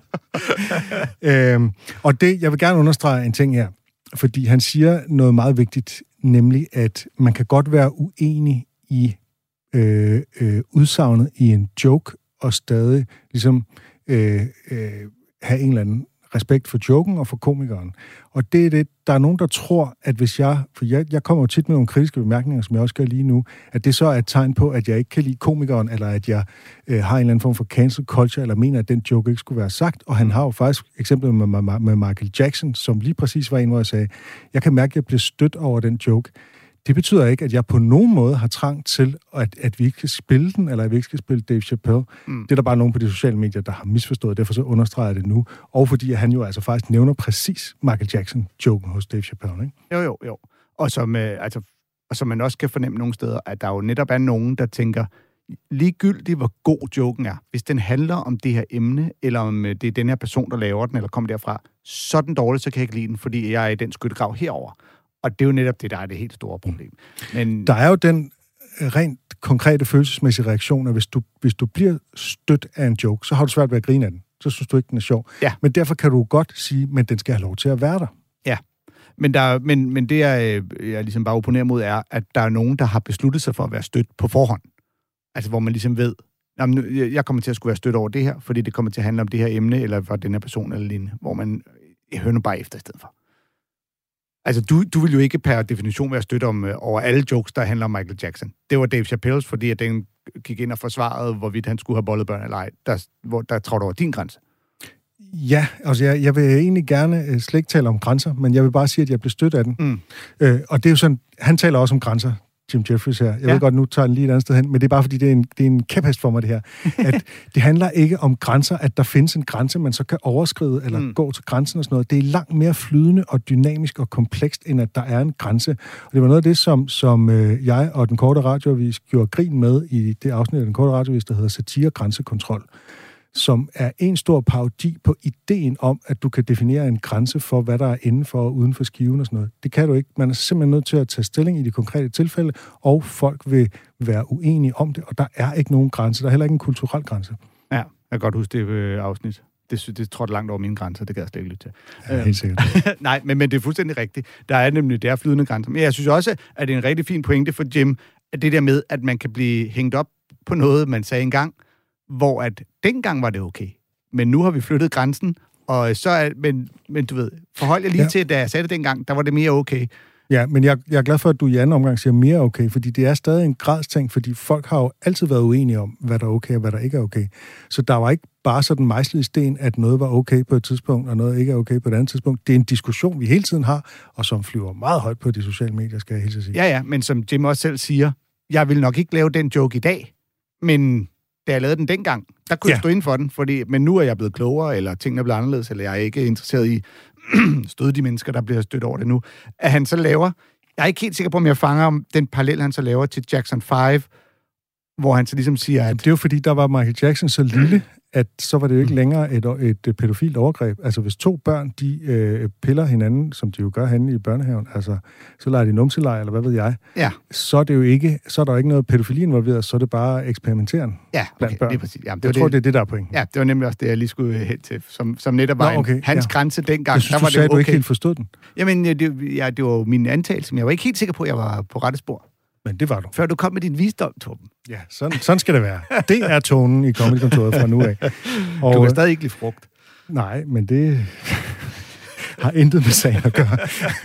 Og jeg vil gerne understrege en ting her, fordi han siger noget meget vigtigt, nemlig at man kan godt være uenig i udsagnet i en joke, og stadig ligesom have en eller anden respekt for joken og for komikeren. Og det er det, der er nogen, der tror, at hvis jeg kommer jo tit med nogle kritiske bemærkninger, som jeg også gør lige nu, at det så er et tegn på, at jeg ikke kan lide komikeren, eller at jeg har en eller anden form for cancel culture, eller mener, at den joke ikke skulle være sagt. Og han har jo faktisk eksempel med Michael Jackson, som lige præcis var en, hvor jeg sagde, jeg kan mærke, at jeg bliver stødt over den joke. Det betyder ikke, at jeg på nogen måde har trang til, at vi ikke skal spille den, eller at vi ikke skal spille Dave Chappelle. Det er der bare nogen på de sociale medier, der har misforstået, derfor så understreger jeg det nu. Og fordi han jo altså faktisk nævner præcis Michael Jackson-joken hos Dave Chappelle, ikke? Jo. Og som man også kan fornemme nogle steder, at der jo netop er nogen, der tænker, ligegyldigt hvor god joken er, hvis den handler om det her emne, eller om det er den her person, der laver den, eller kommer derfra, så er den dårlig, så kan jeg ikke lide den, fordi jeg er i den skyttegrav herover. Og det er jo netop det, der er det helt store problem. Men der er jo den rent konkrete følelsesmæssige reaktion, at hvis du bliver stødt af en joke, så har du svært ved at grine af den. Så synes du ikke, den er sjov. Ja. Men derfor kan du godt sige, men den skal have lov til at være der. Ja, men det, jeg ligesom bare opponerer mod, er, at der er nogen, der har besluttet sig for at være stødt på forhånd. Altså, hvor man ligesom ved, jeg kommer til at skulle være stødt over det her, fordi det kommer til at handle om det her emne, eller for den her person eller lignende, hvor man hører bare efter i stedet for. Altså, du vil jo ikke per definition være stødt over alle jokes, der handler om Michael Jackson. Det var Dave Chappelle's, fordi at den gik ind og forsvarede, hvorvidt han skulle have bollet børn eller ej. Der trådte over din grænse. Ja, altså jeg vil egentlig gerne slet ikke tale om grænser, men jeg vil bare sige, at jeg blev stødt af den. Og det er jo sådan, han taler også om grænser, Jim Jeffries her. Jeg ved godt, nu tager han lige et andet sted hen, men det er bare fordi, det er en kæphest for mig, det her. At det handler ikke om grænser, at der findes en grænse, man så kan overskride eller gå til grænsen og sådan noget. Det er langt mere flydende og dynamisk og komplekst, end at der er en grænse. Og det var noget af det, som jeg og den korte radioavis gjorde grin med i det afsnit af den korte radioavis, der hedder Satire Grænsekontrol, som er en stor parodi på ideen om, at du kan definere en grænse for, hvad der er inden for og uden for skiven og sådan noget. Det kan du ikke. Man er simpelthen nødt til at tage stilling i de konkrete tilfælde, og folk vil være uenige om det, og der er ikke nogen grænse. Der er heller ikke en kulturel grænse. Ja, jeg kan godt huske det afsnit. Det trådte langt over mine grænser, det kan jeg slet ikke lytte til. Ja, helt sikkert. Nej, men det er fuldstændig rigtigt. Der er nemlig der flydende grænser. Men jeg synes også, at det er en rigtig fin pointe for Jim, at det der med, at man kan blive hængt op på noget, man sagde engang, hvor at dengang var det okay. Men nu har vi flyttet grænsen, og så er, men du ved, forhold jeg lige til, da jeg sagde det dengang, der var det mere okay. Ja, men jeg er glad for, at du i anden omgang siger mere okay, fordi det er stadig en gradsting, fordi folk har jo altid været uenige om, hvad der er okay og hvad der ikke er okay. Så der var ikke bare sådan mejslet i sten, at noget var okay på et tidspunkt, og noget ikke er okay på et andet tidspunkt. Det er en diskussion, vi hele tiden har, og som flyver meget højt på de sociale medier, skal jeg helt sige. Ja, men som Jim også selv siger, jeg vil nok ikke lave den joke i dag, men da jeg lavede den dengang, der kunne jeg stå inden for den, men nu er jeg blevet klogere, eller tingene er blevet anderledes, eller jeg er ikke interesseret i støde de mennesker, der bliver stødt over det nu. At han så laver, jeg er ikke helt sikker på, om jeg fanger den parallel, han så laver til Jackson 5, hvor han så ligesom siger, at... Det er jo fordi, der var Michael Jackson så lille, at så var det jo ikke længere et pædofilt overgreb. Altså, hvis to børn, de piller hinanden, som de jo gør henne i børnehaven, altså, så leger de numselej, eller hvad ved jeg, så er det jo ikke, så er der jo ikke noget pædofili involveret, så er det bare eksperimenteren blandt børn. Det er præcis. Jamen, jeg tror, det er det, der er pointen. Ja, det var nemlig også det, jeg lige skulle hen til, som netop var hans grænse dengang. Jeg synes, der var du sagde, det okay. Du ikke helt forstod den. Jamen, det var min antagelse, men jeg var ikke helt sikker på, at jeg var på rette spor. Men det var du. Før du kom med din visdom, Torben. Ja, sådan skal det være. Det er tonen i Comedy-kontoret fra nu af. Og, du kan stadig ikke lide frugt. Nej, men det har intet med sagen at gøre.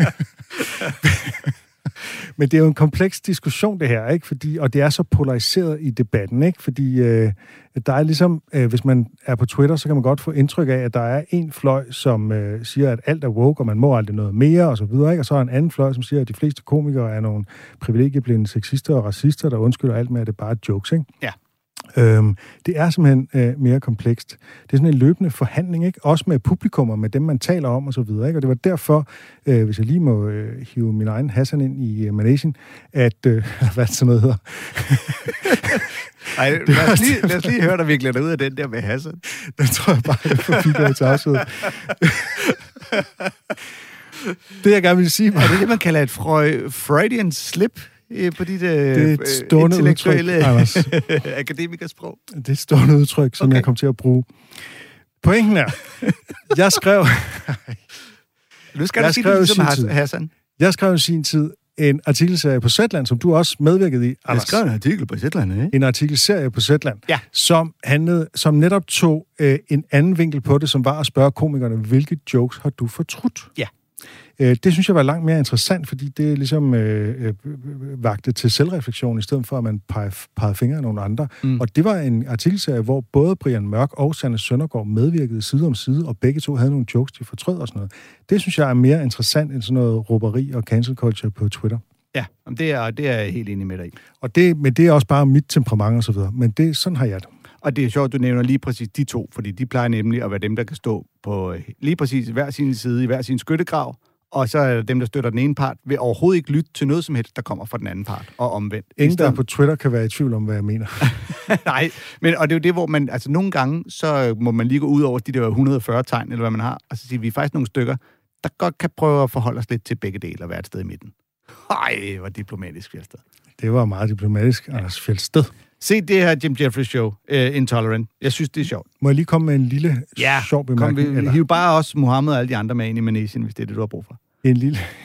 Men det er jo en kompleks diskussion, det her, ikke? Og det er så polariseret i debatten, ikke? Fordi der er ligesom, hvis man er på Twitter, så kan man godt få indtryk af, at der er en fløj, som siger, at alt er woke, og man må aldrig noget mere, og så videre, ikke? Og så er en anden fløj, som siger, at de fleste komikere er nogle privilegieblinde sexister og racister, der undskylder alt med, at det bare er jokes, ikke? Ja. Det er simpelthen mere komplekst. Det er sådan en løbende forhandling, ikke? Også med publikummer, med dem, man taler om, og så videre, ikke? Og det var derfor, hvis jeg lige må hive min egen Hassan ind i managen, at... hvad sådan noget hedder? Ej, lad os lige høre dig virkelig ud af den der med Hassan. Den tror jeg bare, jeg får til afsøget. Det, jeg gerne vil sige... Er det det, man kalder et Freudian slip? På dit intellektuelle akademikersprog. Det er et stående udtryk, som jeg kom til at bruge. Pointen er, jeg skrev... Nu skal du sige det ligesom Hassan. Jeg skrev i sin tid en artikelserie på Zetland, som du også medvirkede i, Anders. Jeg skrev en artikel på Zetland, ikke? En artikelserie på Zetland, ja. som netop tog en anden vinkel på det, som var at spørge komikerne, hvilke jokes har du fortrudt? Ja. Det synes jeg var langt mere interessant, fordi det ligesom vagte til selvreflektion, i stedet for, at man pegede fingre af nogle andre. Og det var en artikelserie, hvor både Brian Mørk og Sanne Søndergaard medvirkede side om side, og begge to havde nogle jokes, de fortrød og sådan noget. Det synes jeg er mere interessant end sådan noget råberi og cancel culture på Twitter. Ja, det er jeg helt enig med dig i. Men det er også bare mit temperament og så videre. Men sådan har jeg det. Og det er sjovt, du nævner lige præcis de to, fordi de plejer nemlig at være dem, der kan stå på lige præcis hver sin side i hver sin skyttegrav, og så er dem, der støtter den ene part, vil overhovedet ikke lytte til noget som helst, der kommer fra den anden part, og omvendt. Ingen, der på Twitter kan være i tvivl om, hvad jeg mener. Nej, og det er jo det, hvor man, altså nogle gange, så må man lige gå ud over de der 140 tegn, eller hvad man har, og så sige, vi er faktisk nogle stykker, der godt kan prøve at forholde os lidt til begge dele og være et sted i midten. Ej, hvor diplomatisk, Fjeldsted. Det var meget diplomatisk, Anders Fjeldsted. Se det her Jim Jeffries show, Intolerant. Jeg synes, det er sjovt. Må jeg lige komme med en lille sjov bemærkning? Vi hiver bare også Mohammed og alle de andre med ind i Manesien, hvis det er det, du har brug for. En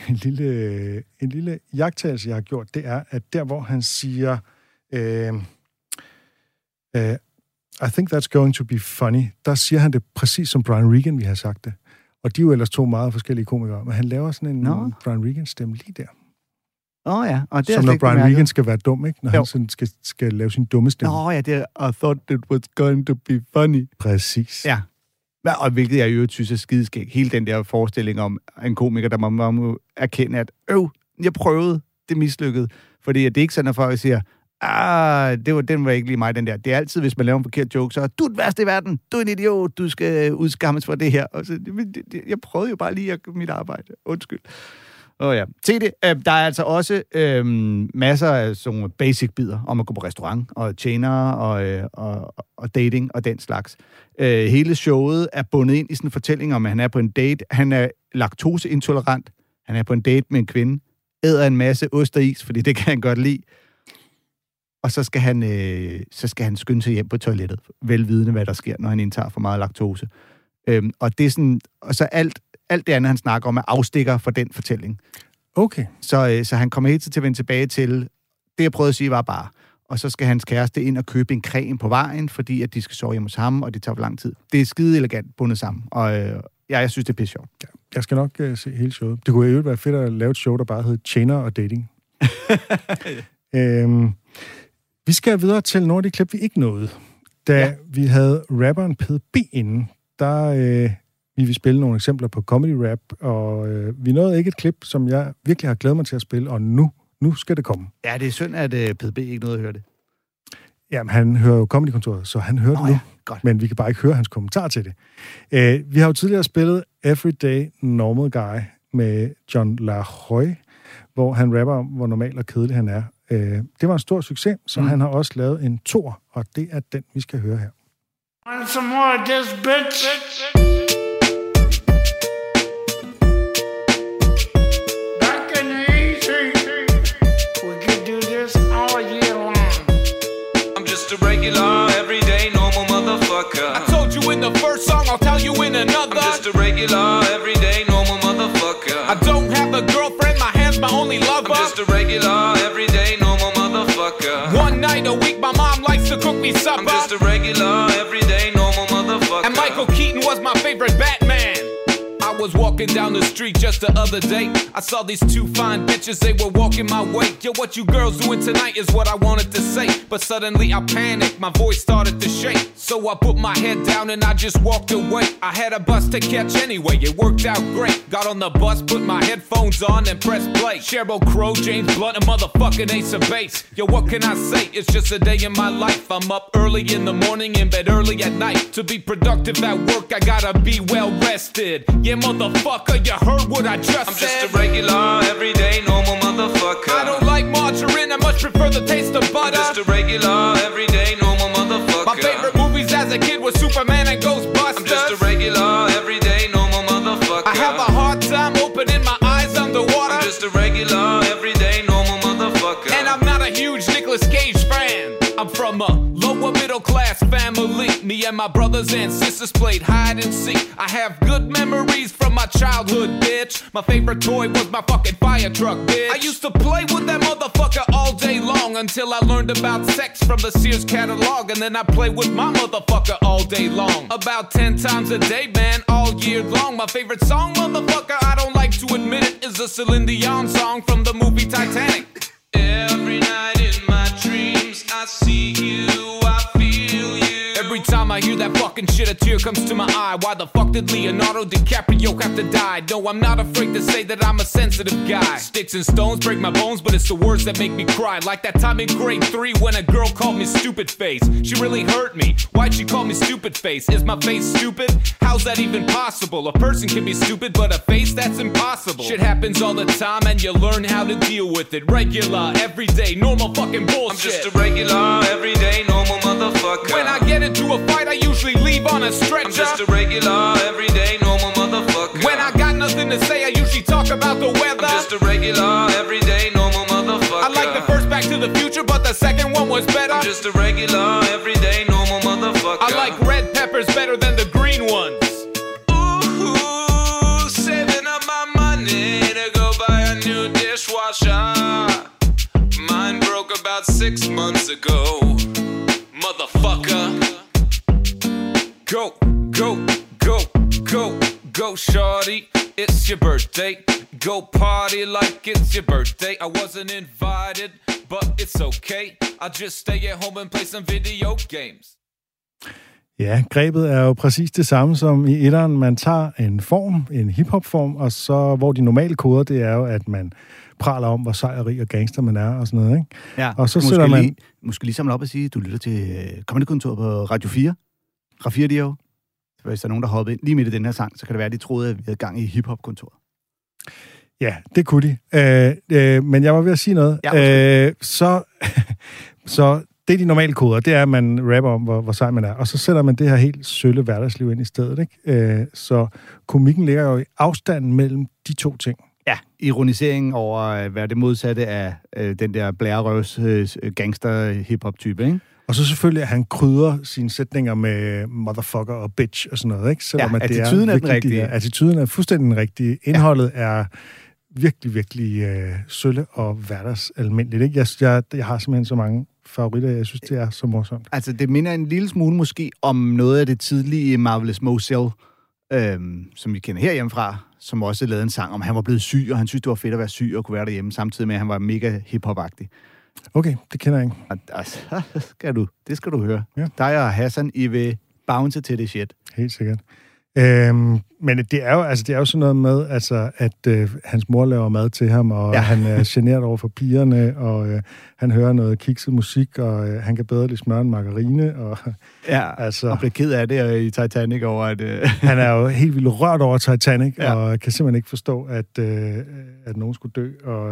lille iagttagelse, jeg har gjort, det er, at der, hvor han siger, I think that's going to be funny, der siger han det præcis som Brian Regan, vi har sagt det. Og de er jo ellers to meget forskellige komikere, men han laver sådan en Brian Regan-stemme lige der. Ja. Og det som når Brian Regan skal være dum, ikke? Når han sådan skal lave sin dumme stemme. Ja, det er, I thought it was going to be funny. Præcis. Ja. Og hvilket jeg jo synes er skideskæg. Hele den der forestilling om en komiker, der må erkende, at jeg prøvede, det mislykkede. Fordi det er ikke sådan, at folk siger, den var ikke lige mig, den der. Det er altid, hvis man laver en forkert joke, så du er den værste i verden, du er en idiot, du skal udskammes for det her. Og så, jeg prøvede jo bare lige mit arbejde. Undskyld. Ja. Se det. Der er altså også masser af sådan basic-bider om at gå på restaurant, og tjenere, og dating, og den slags. Hele showet er bundet ind i sådan en fortælling om, at han er på en date. Han er laktoseintolerant. Han er på en date med en kvinde. Æder en masse ost og is, fordi det kan han godt lide. Og så skal han skynde sig hjem på toilettet, velvidende, hvad der sker, når han indtager for meget laktose. Og det er sådan... Og så alt det andet, han snakker om, er afstikker for den fortælling. Okay. Så han kommer helt til at vende tilbage til, det jeg prøvede at sige var bare, og så skal hans kæreste ind og købe en creme på vejen, fordi at de skal sove hjemme hos ham, og det tager for lang tid. Det er skide elegant bundet sammen, og jeg synes, det er pisse sjovt. Ja, jeg skal nok se hele showet. Det kunne jo være fedt at lave et show, der bare hed Tjener og Dating. Vi skal videre til nogle af de klip, vi ikke nåede. Da vi havde rapperen PDB inden, der... Vi vil spille nogle eksempler på comedy rap, og vi nåede ikke et klip, som jeg virkelig har glædet mig til at spille, og nu skal det komme. Ja, det er synd, at PDB ikke nåede at høre det. Jamen, han hører jo Comedy-kontoret, så han hører det nu. Godt. Men vi kan bare ikke høre hans kommentar til det. Vi har jo tidligere spillet Everyday Normal Guy med John LaRoy, hvor han rapper om, hvor normal og kedelig han er. Det var en stor succes, så han har også lavet en toer, og det er den, vi skal høre her. Want some more of this, bitch? Regular, everyday, normal motherfucker. I told you in the first song, I'll tell you in another. I'm just a regular, everyday, normal motherfucker. I don't have a girlfriend, my hand's my only lover. I'm just a regular, everyday, normal motherfucker. One night a week, my mom likes to cook me supper. I'm just a regular, everyday, normal motherfucker. And Michael Keaton was my favorite Batman. I was walking down the street just the other day. I saw these two fine bitches, they were walking my way. Yo, what you girls doing tonight is what I wanted to say. But suddenly I panicked, my voice started to shake. So I put my head down and I just walked away. I had a bus to catch anyway, it worked out great. Got on the bus, put my headphones on and pressed play. Sheryl Crow, James Blunt, a motherfucking Ace of Base. Yo, what can I say? It's just a day in my life. I'm up early in the morning, in bed early at night. To be productive at work, I gotta be well rested. Yeah, motherfucker, you heard what I just said. I'm just a regular, everyday, normal motherfucker. I don't like margarine, I much prefer the taste of butter. I'm just a regular, everyday, normal motherfucker. My favorite movies as a kid were Superman and Ghostbusters. I'm just a regular, everyday, normal motherfucker. I have a hard time opening my eyes underwater. I'm just a regular, everyday, normal motherfucker. And I'm not a huge Nicolas Cage fan. I'm from a lower middle class family. Me, and my brothers and sisters played hide and seek. I have good memories from my childhood, bitch. My favorite toy was my fucking fire truck, bitch. I used to play with that motherfucker all day long until I learned about sex from the Sears catalog. And then I play with my motherfucker all day long. About 10 times a day, man, all year long. My favorite song, motherfucker, I don't like to admit it, is a Celine Dion song from the movie Titanic. Every night in my dreams, I see you, I feel you. Every time I hear that fucking shit, a tear comes to my eye. Why the fuck did Leonardo DiCaprio have to die? No, I'm not afraid to say that I'm a sensitive guy. Sticks and stones break my bones, but it's the words that make me cry. Like that time in grade 3 when a girl called me stupid face. She really hurt me. Why'd she call me stupid face? Is my face stupid? How's that even possible? A person can be stupid, but a face, that's impossible. Shit happens all the time and you learn how to deal with it. Regular, everyday, normal fucking bullshit. I'm just a regular, everyday, normal motherfucker. When I get into a fight, I usually leave on a stretcher. I'm just a regular, everyday, normal motherfucker. When I got nothing to say, I usually talk about the weather. I'm just a regular, everyday, normal motherfucker. I like the first Back to the Future, but the second one was better. I'm just a regular, everyday, normal motherfucker. I like red peppers better than the green ones. Ooh, saving up my money to go buy a new dishwasher. Mine broke about 6 months ago. Motherfucker. Go, go, go, go, go, shorty. It's your birthday. Go party like it's your birthday. I wasn't invited, but it's okay. I'll just stay at home and play some video games. Ja, grebet er jo præcis det samme som i etteren. Man tager en form, en hiphop-form, og så, hvor de normale koder, det er jo, at man praler om, hvor sejrig og gangster man er, og sådan noget, ikke? Ja, og så sætter man... Måske lige samle op og sige, du lytter til Comedy-kontoret på Radio 4. Radio 4, hvis der er nogen, der hopper ind lige midt i den her sang, så kan det være, at de troede, at vi havde gang i hiphop-kontoret. Ja, det kunne de. Men jeg var ved at sige noget. Ja, så det er de normale koder, det er, at man rapper om, hvor sej man er. Og så sætter man det her helt sølle hverdagsliv ind i stedet, ikke? Så komikken ligger jo i afstanden mellem de to ting. Ja, ironiseringen over, hvad det modsatte af den der blærerøvs gangster-hip-hop-type, ikke? Og så selvfølgelig, at han krydrer sine sætninger med motherfucker og bitch og sådan noget, ikke? Selvom ja, attituden er den rigtige. Attituden er fuldstændig den rigtige. Indholdet er virkelig, virkelig sølle og hverdagsalmindeligt, ikke? Jeg har simpelthen så mange favoritter, jeg synes, det er så morsomt. Altså, det minder en lille smule måske om noget af det tidlige Marvelous Mozel, som vi kender herhjemmefra, som også lavede en sang om, han var blevet syg, og han synes, det var fedt at være syg og kunne være derhjemme, samtidig med, at han var mega hip-hop-agtig. Okay, det kender jeg ikke. Altså, det skal du høre. Ja. Dig og Hassan, I vil bounce til det shit. Helt sikkert. Men det er jo sådan noget med, altså, at hans mor laver mad til ham, og han er generet over for pigerne, og han hører noget kikset musik, og han kan bedre lide smør end margarine. Og, altså, og bliver ked af det i Titanic over, at... Han er jo helt vildt rørt over Titanic, og kan simpelthen ikke forstå, at nogen skulle dø, og...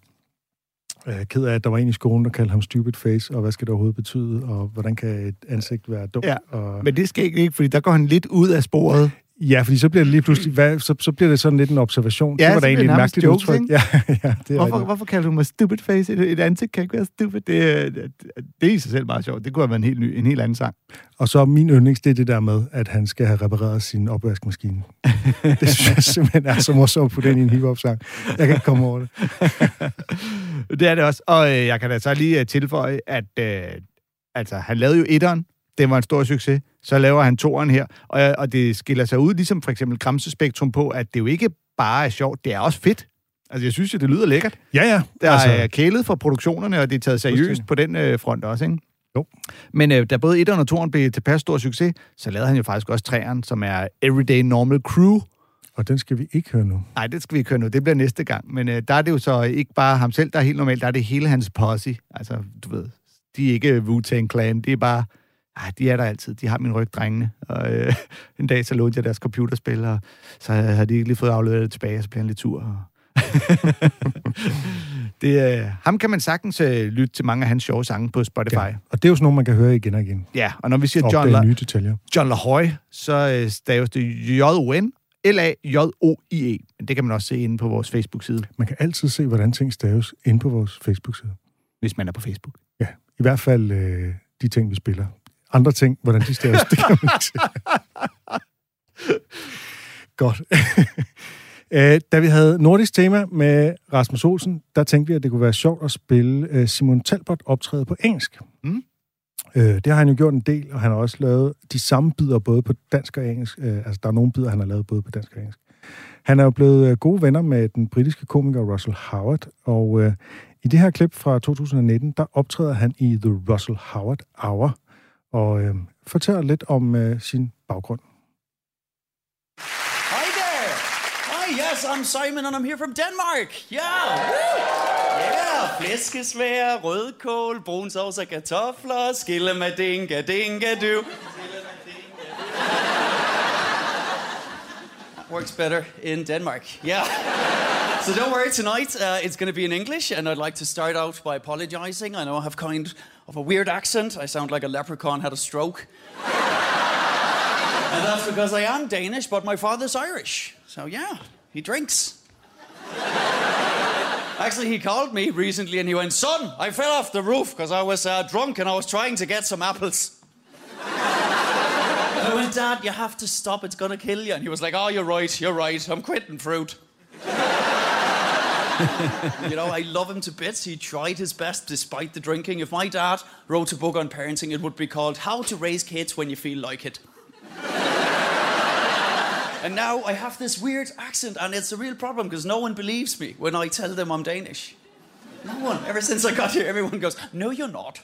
ked af, at der var en i skolen, der kaldte ham stupid face, og hvad skal det overhovedet betyde, og hvordan kan et ansigt være dumt? Ja, og... men det skal ikke, fordi der går han lidt ud af sporet. Ja, fordi så bliver det lige pludselig, så bliver det sådan lidt en observation. Ja, det var da egentlig et mærkeligt udtryk. Ja, det er hvorfor kalder du mig stupid face? Et ansigt kan ikke være stupid. Det er i sig selv meget sjovt. Det kunne have været en helt anden sang. Og så min yndlings, det er det der med, at han skal have repareret sin opvaskemaskine. Det synes jeg simpelthen er så morsomt på den i en hiphop-sang. Jeg kan ikke komme over det. Det er det også. Og jeg kan da så lige tilføje, at altså, han lavede jo etteren. Det var en stor succes. Så laver han toeren her. Og det skiller sig ud, ligesom for eksempel Gramsespektrum på, at det jo ikke bare er sjovt, det er også fedt. Altså, jeg synes jo, det lyder lækkert. Ja. Der er kælet for produktionerne, og det er taget seriøst på den front også, ikke? Jo. Men da både etteren og toeren blev tilpas stor succes, så lavede han jo faktisk også treeren, som er Everyday Normal Crew. Og den skal vi ikke høre nu. Nej, det skal vi ikke høre nu. Det bliver næste gang. Men der er det jo så ikke bare ham selv, der er helt normalt. Der er det hele hans posse. Altså, du ved, de er ikke Wu-Tang Clan. Det er bare... de er der altid. De har min ryg, drengene. Og en dag så lånte jeg deres computerspil, og så havde de ikke lige fået afleveret det tilbage, og så blev han lidt tur. Ham kan man sagtens lytte til mange af hans sjove sange på Spotify. Ja, og det er jo sådan nogle, man kan høre igen og igen. Ja, og når vi siger John LaHoy, så staves det J-O-N, L-A-J-O-I-E. Men det kan man også se inde på vores Facebook-side. Man kan altid se, hvordan ting staves inde på vores Facebook-side. Hvis man er på Facebook. Ja, i hvert fald de ting, vi spiller. andre ting, hvordan de staves. Det kan man ikke sige. Godt. Da vi havde nordisk tema med Rasmus Olsen, der tænkte vi, at det kunne være sjovt at spille Simon Talbot optræde på engelsk. Det har han jo gjort en del, og han har også lavet de samme bidder både på dansk og engelsk. Altså, der er nogle bidder, han har lavet både på dansk og engelsk. Han er jo blevet gode venner med den britiske komiker Russell Howard, og i det her klip fra 2019, der optræder han i The Russell Howard Hour, og fortæller lidt om sin baggrund. Hi there! Hi, yes, I'm Simon, and I'm here from Denmark. Yeah! Woo! Yeah! Flæskesvær, rødkål, brun sovs og kartofler, skillemadinga, dinga, du. Works better in Denmark. Yeah. So don't worry, tonight it's going to be in English, and I'd like to start out by apologizing. I know I have kind of a weird accent. I sound like a leprechaun had a stroke. And that's because I am Danish, but my father's Irish. So yeah, he drinks. Actually, he called me recently and he went, "Son, I fell off the roof because I was drunk and I was trying to get some apples." I went, "Dad, you have to stop. It's going to kill you." And he was like, "Oh, you're right. I'm quitting fruit." You know, I love him to bits. He tried his best despite the drinking. If my dad wrote a book on parenting, it would be called How to Raise Kids When You Feel Like It. And now I have this weird accent, and it's a real problem because no one believes me when I tell them I'm Danish. No one. Ever since I got here, everyone goes, "No, you're not.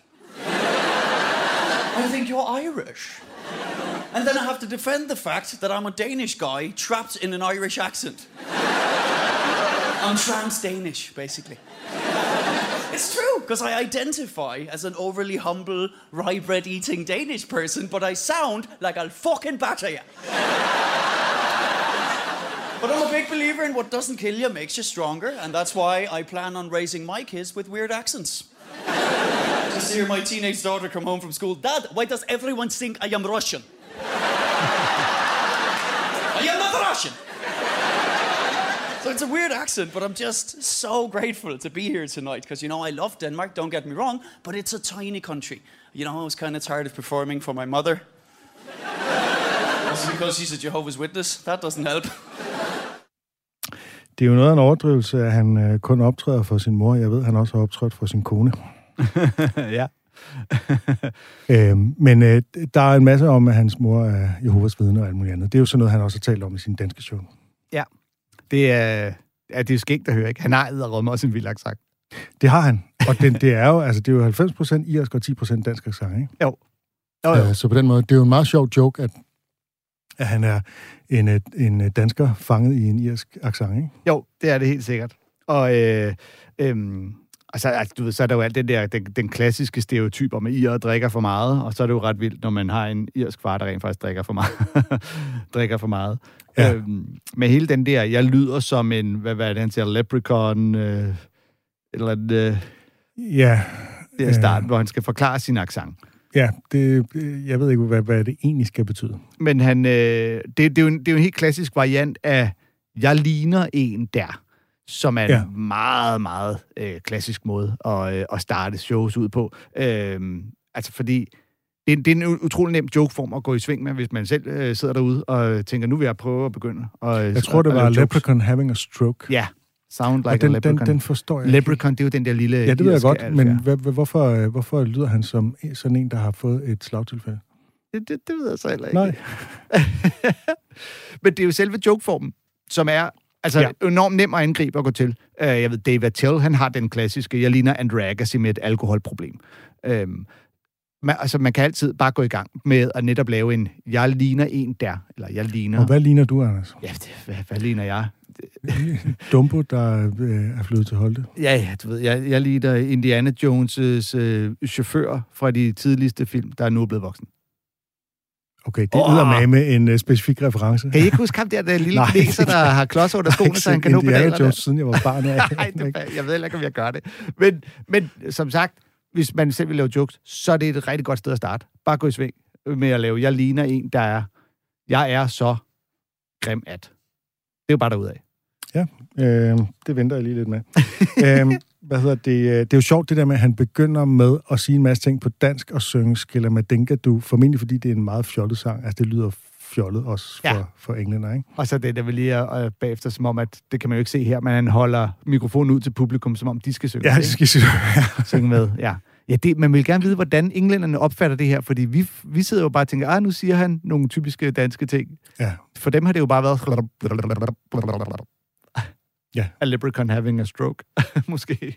I think you're Irish." And then I have to defend the fact that I'm a Danish guy trapped in an Irish accent. I'm trans-Danish, basically. It's true, because I identify as an overly humble, rye bread eating Danish person, but I sound like I'll fucking batter you. But I'm a big believer in what doesn't kill you makes you stronger, and that's why I plan on raising my kids with weird accents. Just hear my teenage daughter come home from school. "Dad, why does everyone think I am Russian?" I am not Russian! So it's a weird accent, but I'm just so grateful to be here tonight, because, you know, I love Denmark, don't get me wrong, but it's a tiny country. You know, I was kind of tired of performing for my mother. Also because she's a Jehovah's Witness. That doesn't help. Det er jo noget af en overdrivelse, at han kun optræder for sin mor. Jeg ved, han også har optrådt for sin kone. Ja. Men der er en masse om, at hans mor er Jehovas vidne og alt muligt andet. Det er jo sådan noget, han også har talt om i sin danske show. Ja. Det er jo skægt at høre, ikke? Han har edderrømme også en vild accent. Det har han. Og det er jo 90% irsk og 10% dansk accent, ikke? Jo. Så på den måde, det er jo en meget sjov joke, at han er en dansker fanget i en irsk accent, ikke? Jo, det er det helt sikkert. Og altså, du ved, så er der jo alt den klassiske stereotyp om, at irer drikker for meget, og så er det jo ret vildt, når man har en irsk far, der rent faktisk drikker for meget. Ja. Med hele den der, jeg lyder som en, hvad er det, han siger, leprechaun, eller en... Ja. Det er starten, hvor han skal forklare sin accent. Ja, jeg ved ikke, hvad det egentlig skal betyde. Men det er jo en helt klassisk variant af, jeg ligner en der, som er en meget, meget klassisk måde at starte shows ud på. Altså fordi, det er en utrolig nem jokeform at gå i sving med, hvis man selv sidder derude og tænker, nu vil jeg prøve at begynde. Jeg tror, det var Leprechaun Having a Stroke. Ja, Sound Like a Leprechaun. Den forstår jeg. Leprechaun, det er jo den der lille... Ja, det ved jeg godt, men hvorfor lyder han som sådan en, der har fået et slagtilfælde? Det ved jeg så heller ikke. Nej. Men det er jo selve jokeformen, som er enormt nem at angribe og gå til. Jeg ved, Dave Attell, han har den klassiske, jeg ligner Andre Agassi med et alkoholproblem. Man kan altid bare gå i gang med at netop lave en, jeg ligner en der, eller jeg ligner... Og hvad ligner du, Anders? Ja, hvad ligner jeg? Dumbo, der er flyttet til Holte. Ja, du ved, jeg ligner Indiana Jones' chauffør fra de tidligste film, der er nu blevet voksen. Okay, det er med en specifik reference. Kan I ikke huske ham der lille kineser, der har klodser under skoene, så han kan nå pedalerne? Indiana Jones, siden jeg var barn. Nej, jeg ved ikke, om jeg gør det. Men som sagt, hvis man selv vil lave jokes, så er det et rigtig godt sted at starte. Bare gå i sving med at lave, jeg ligner en, der er, jeg er så grim at. Det er jo bare derudad. Ja, det venter jeg lige lidt med. det er jo sjovt det der med, at han begynder med at sige en masse ting på dansk og synge Skilla Madinka Du, formentlig fordi det er en meget fjollet sang. Altså, det lyder fjollet også for englænder, ikke? Og så det der vil lige bagefter, som om, at det kan man jo ikke se her, men han holder mikrofonen ud til publikum, som om de skal synge. Ja, de skal synge med, ja. Ja, man vil gerne vide, hvordan englænderne opfatter det her, fordi vi sidder jo bare og tænker, nu siger han nogle typiske danske ting. Ja. For dem har det jo bare været... Ja. A leprechaun having a stroke, måske.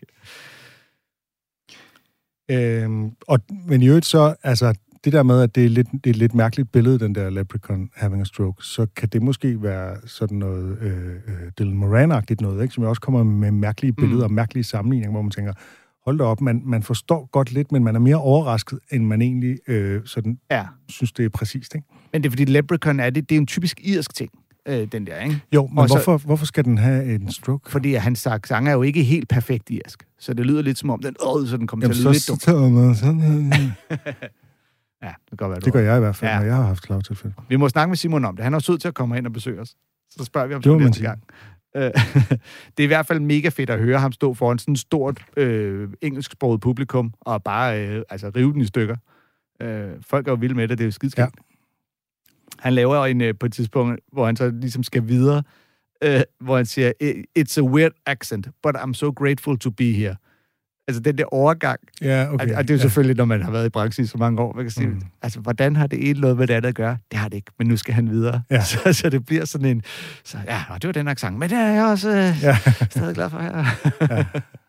Men i øvrigt så, altså, det der med, at det er et lidt mærkeligt billede, den der leprechaun having a stroke, så kan det måske være sådan noget Dylan Moran-agtigt noget, ikke? Som jo også kommer med mærkelige billeder og mærkelige sammenligninger, hvor man tænker, hold da op, man forstår godt lidt, men man er mere overrasket, end man egentlig synes, det er præcist, ikke? Men det er fordi leprechaun det er en typisk irsk ting, den der, ikke? Jo, men hvorfor skal den have en stroke? Fordi hans sang er jo ikke helt perfekt irsk, så det lyder lidt som om, så den kommer til at lyde lidt dumt. Ja, det kan være, det gør jeg i hvert fald, når jeg har haft slagtilfælde. Vi må snakke med Simon om det. Han er sød til at komme ind og besøge os. Så spørger vi om det næste gang. Det er i hvert fald mega fedt at høre ham stå foran sådan et stort engelsksproget publikum og bare rive den i stykker. Folk er jo vilde med det, det er jo skidskægt. Ja. Han laver på et tidspunkt, hvor han så ligesom skal videre, hvor han siger, it's a weird accent, but I'm so grateful to be here. Altså den der overgang. Ja, okay. Og det er jo selvfølgelig, når man har været i branchen i så mange år, man kan sige, altså hvordan har det ene noget med det andet at gøre? Det har det ikke, men nu skal han videre. Ja. Så det bliver sådan en, det var den accent, men det er jeg også stadig glad for her. Ja.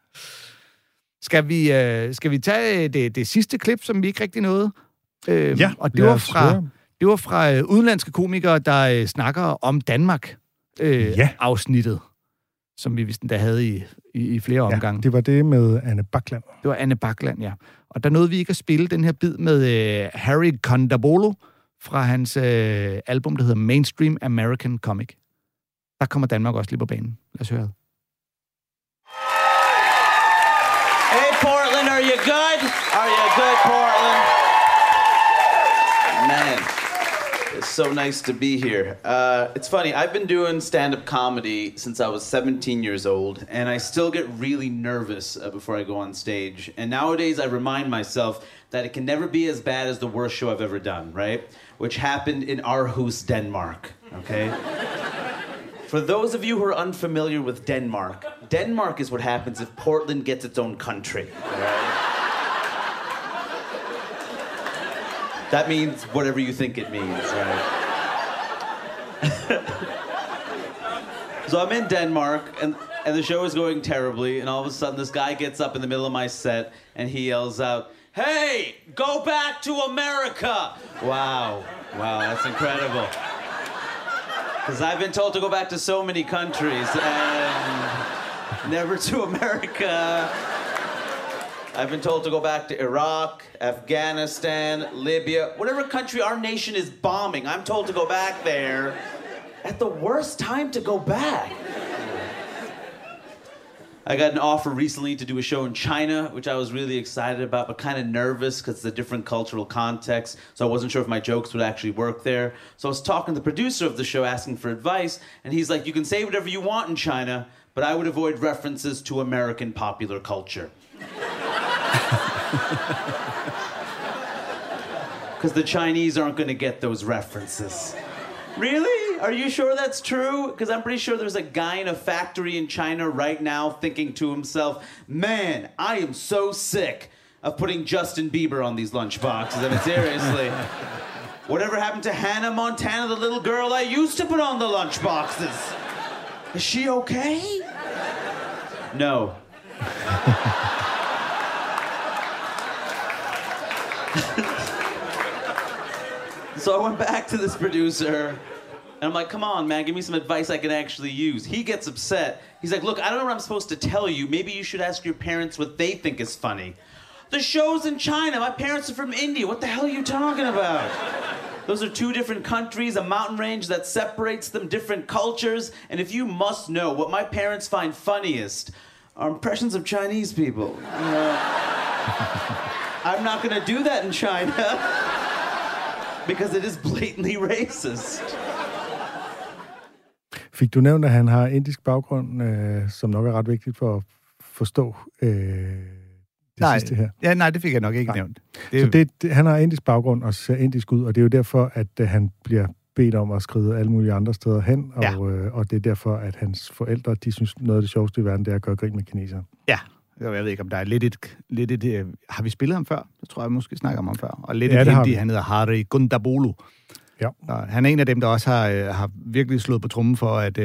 Skal vi tage det sidste klip, som vi ikke rigtig nåede? Og det var fra udenlandske komikere, der snakker om Danmark afsnittet, som vi vist endda havde i flere omgange. Det var det med Anne Bakland. Det var Anne Bakland, ja. Og der nåede vi ikke at spille den her bid med Harry Kondabolu fra hans album, der hedder Mainstream American Comic. Der kommer Danmark også lige på banen. Lad os høre det. Hey Portland, are you good? Are you good, Portland? Man. It's so nice to be here. It's funny, I've been doing stand-up comedy since I was 17 years old, and I still get really nervous before I go on stage. And nowadays I remind myself that it can never be as bad as the worst show I've ever done, right? Which happened in Aarhus, Denmark, okay? For those of you who are unfamiliar with Denmark, Denmark is what happens if Portland gets its own country, right? That means whatever you think it means, right? So I'm in Denmark, and the show is going terribly, and all of a sudden this guy gets up in the middle of my set, and he yells out, "Hey, go back to America!" Wow, that's incredible. Because I've been told to go back to so many countries, and never to America. I've been told to go back to Iraq, Afghanistan, Libya, whatever country our nation is bombing, I'm told to go back there at the worst time to go back. I got an offer recently to do a show in China, which I was really excited about, but kind of nervous because it's a different cultural context, so I wasn't sure if my jokes would actually work there. So I was talking to the producer of the show, asking for advice, and he's like, you can say whatever you want in China, but I would avoid references to American popular culture. Because the Chinese aren't going to get those references. Really? Are you sure that's true? Because I'm pretty sure there's a guy in a factory in China right now thinking to himself, man, I am so sick of putting Justin Bieber on these lunchboxes. I mean, seriously. Whatever happened to Hannah Montana, the little girl I used to put on the lunchboxes? Is she okay? No. So I went back to this producer, and I'm like, come on, man, give me some advice I can actually use. He gets upset. He's like, look, I don't know what I'm supposed to tell you. Maybe you should ask your parents what they think is funny. The show's in China. My parents are from India. What the hell are you talking about? Those are two different countries, a mountain range that separates them, different cultures. And if you must know, what my parents find funniest are impressions of Chinese people. You know, I'm not going to do that in China because it is blatantly racist. Fik du nævnt, at han har indisk baggrund, som nok er ret vigtigt forstå sidste her. Ja, nej, det fik jeg nok ikke nævnt. Så han har indisk baggrund og ser indisk ud, og det er jo derfor, at han bliver bedt om at skride alle mulige andre steder hen, og det er derfor, at hans forældre, de synes, noget af det sjoveste i verden, det er at gøre grin med kinesere. Ja, jeg ved ikke, om der er lidt et har vi spillet ham før? Det tror jeg måske snakker om ham før. Og lidt et hindi, han hedder Hari Gundabolu. Ja. Og han er en af dem, der også har virkelig slået på trommen for, at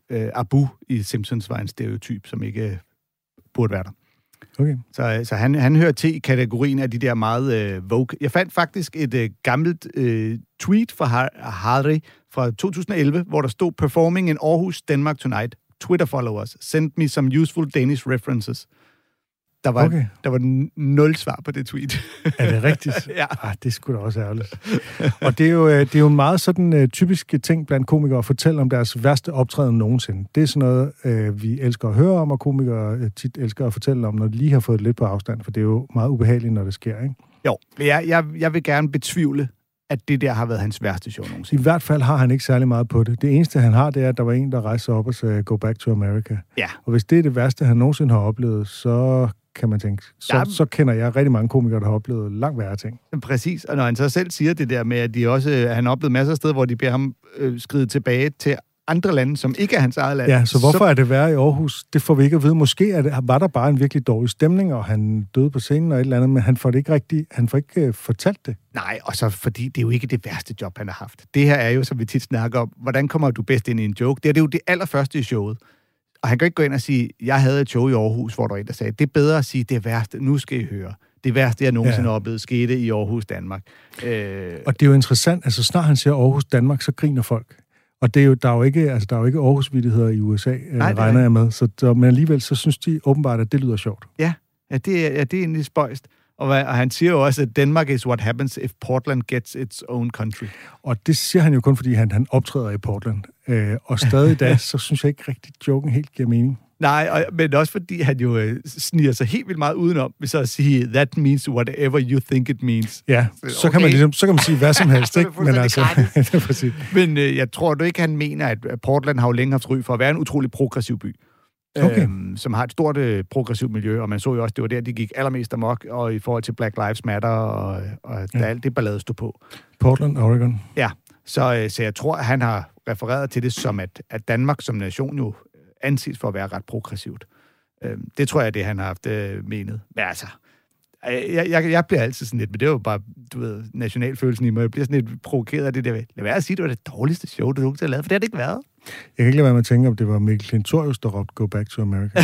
Abu i Simpsons var en stereotyp, som ikke burde være der. Okay. Så han hører til i kategorien af de der meget vogue. Jeg fandt faktisk et gammelt tweet fra Hari fra 2011, hvor der stod "Performing in Aarhus, Denmark tonight. Twitter followers. Send me some useful Danish references." Der var 0 svar på det tweet. Er det rigtigt? Ja. Det er sgu da også ærgerligt. Og det er jo en meget sådan typisk ting blandt komikere at fortælle om deres værste optræden nogensinde. Det er sådan noget, vi elsker at høre om, og komikere tit elsker at fortælle om, når de lige har fået lidt på afstand, for det er jo meget ubehageligt, når det sker, ikke? Jo, men jeg vil gerne betvivle, at det der har været hans værste show nogensinde. I hvert fald har han ikke særlig meget på det. Det eneste, han har, det er, at der var en, der rejste op og sagde, "Go back to America." Ja. Og hvis det er det værste, han nogensinde har oplevet, så kan man tænke, så kender jeg rigtig mange komikere, der har oplevet langt værre ting. Præcis, og når han så selv siger det der med, at han har oplevet masser af steder, hvor de beder ham skride tilbage til andre lande, som ikke er hans eget land. Ja, så hvorfor er det værre i Aarhus? Det får vi ikke at vide. Måske var der bare en virkelig dårlig stemning, og han døde på scenen og et eller andet, men han får ikke fortalt det. Nej, og så fordi det er jo ikke det værste job, han har haft. Det her er jo, som vi tit snakker om, hvordan kommer du bedst ind i en joke? Det er jo det allerførste i showet. Og han kan ikke gå ind og sige, jeg havde et show i Aarhus, hvor der var en, der sagde, det er bedre at sige, det værste, nu skal I høre. Det værste, jeg nogensinde har oplevet, skete i Aarhus, Danmark. Og det er jo interessant, altså snart han siger Aarhus, Danmark, så griner folk. Og det er jo, der er jo ikke Aarhus-vittigheder i USA, regner jeg med. Men alligevel, så synes de åbenbart, at det lyder sjovt. Ja, det er egentlig spøjst. Og han siger jo også, at Denmark is what happens if Portland gets its own country. Og det siger han jo kun, fordi han optræder i Portland. Og stadig i dag, så synes jeg ikke rigtig, joken helt giver mening. Nej, men også fordi han jo sniger sig helt vildt meget udenom, ved så at sige, that means whatever you think it means. Ja, så kan man sige hvad som helst, ikke? Men altså, det er præcis. Men jeg tror du ikke, han mener, at Portland har jo længe haft ry for at være en utrolig progressiv by. Okay. Som har et stort progressivt miljø, og man så jo også, det var der, de gik allermest amok, og i forhold til Black Lives Matter, og der alt det ballade stod på. Portland, Oregon. Ja, så jeg tror, at han har refereret til det som, at Danmark som nation jo anses for at være ret progressivt. Det tror jeg, det han har haft menet. Men altså, jeg bliver altid sådan lidt, men det er jo bare, du ved, nationalfølelsen i mig. Jeg bliver sådan lidt provokeret af det der. Lad være at sige, det var det dårligste show, du nogensinde har lavet, for det har det ikke været. Jeg kan ikke lade være med at tænke, om det var Mikkel Klintorius, der råbte Go Back to America.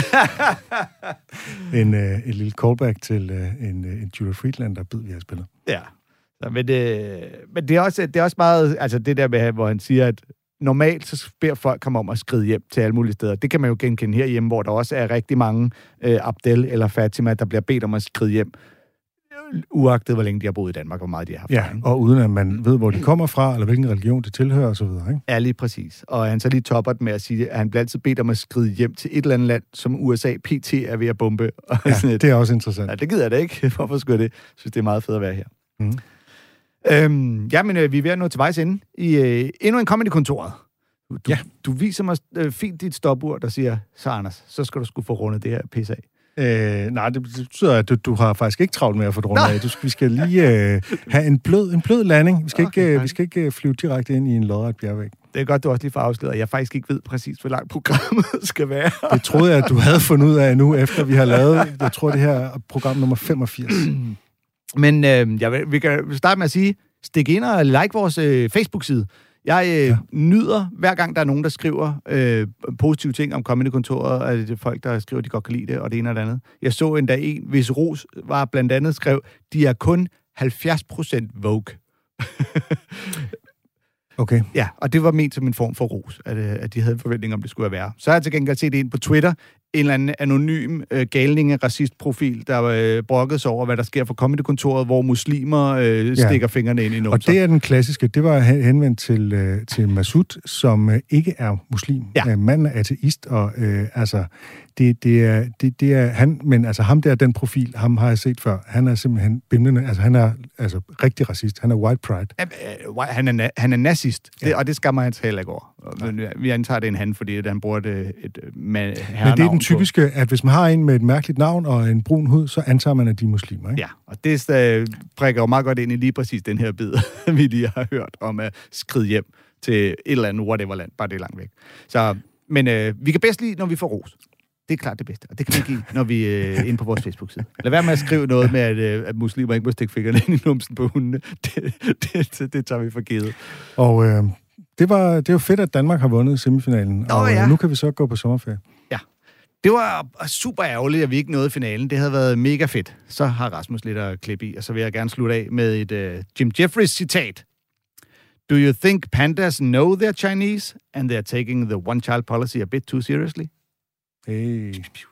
En lille callback til en Julia Friedlander-bid, vi har spillet. Ja, men det er også meget, altså det der med, hvor han siger, at normalt så beder folk komme om at skride hjem til alle mulige steder. Det kan man jo genkende herhjemme, hvor der også er rigtig mange Abdel eller Fatima, der bliver bedt om at skride hjem, uagtet hvor længe de har boet i Danmark, hvor meget de har haft. Ja, og uden at man ved, hvor de kommer fra, eller hvilken religion de tilhører osv., ikke? Ja, lige præcis. Og han så lige topper med at sige, at han bliver altid bedt om at skride hjem til et eller andet land, som USA PT er ved at bombe. Ja, det er også interessant. Ja, det gider jeg da ikke. Hvorfor skulle jeg det? Jeg synes, det er meget fedt at være her. Men vi er ved at nå til vejs ende i endnu en Comedy-kontoret. Du viser mig fint dit stopur, der siger, så Anders, så skal du sgu få rundet det her pis af. Nej, det betyder, at du har faktisk ikke travlt med at få det rundt af. Vi skal lige have en blød landing. Vi skal ikke flyve direkte ind i en lodret bjergvæg. Det er godt, du også lige får afsløret, at jeg faktisk ikke ved præcis, hvor langt programmet skal være. Det troede jeg, at du havde fundet ud af nu, efter vi har lavet, jeg tror, det her er program nummer 85. Men vi kan starte med at sige, stik ind og like vores Facebook-side. Jeg nyder, hver gang der er nogen, der skriver positive ting om Comedy-kontoret, og det er folk, der skriver, at de godt kan lide det, og det ene og det andet. Jeg så endda en, hvis ros var blandt andet skrev, de er kun 70% Vogue. Okay. Ja, og det var ment som en form for ros, at de havde en forventning om, det skulle være. Så har jeg til gengæld set en på Twitter, en eller anden anonym galninge-racistprofil, der brokkede sig over, hvad der sker for Comedy-kontoret, hvor muslimer stikker fingrene ind i numser. Og det er den klassiske. Det var henvendt til Masud, som ikke er muslim. Ja. Manden er ateist, og det er han, men altså ham der, den profil, ham har jeg set før. Han er simpelthen bimlende, altså han er rigtig racist. Han er white pride. Han er nazist, og det skammer han heller ikke over. Men vi antager, det er en han, fordi han bruger et Men det er den typiske, at hvis man har en med et mærkeligt navn og en brun hud, så antager man, at de er muslimer, ikke? Ja, og det prikker jo meget godt ind i lige præcis den her bid, vi lige har hørt om at skride hjem til et eller andet whatever-land, bare det er langt væk. Så, men vi kan bedst lide, når vi får ros. Det er klart det bedste, og det kan vi give, når vi er inde på vores Facebook-side. Lad være med at skrive noget med, at muslimer ikke må stikke fingrene ind i numsen på hundene. Det tager vi for givet. Og det er jo fedt, at Danmark har vundet semifinalen, og nu kan vi så gå på sommerferie. Ja. Det var super ærgerligt, at vi ikke nåede finalen. Det havde været mega fedt. Så har Rasmus lidt at klippe i, og så vil jeg gerne slutte af med et Jim Jeffries citat. Do you think pandas know they're Chinese, and they're taking the one-child policy a bit too seriously? Hey.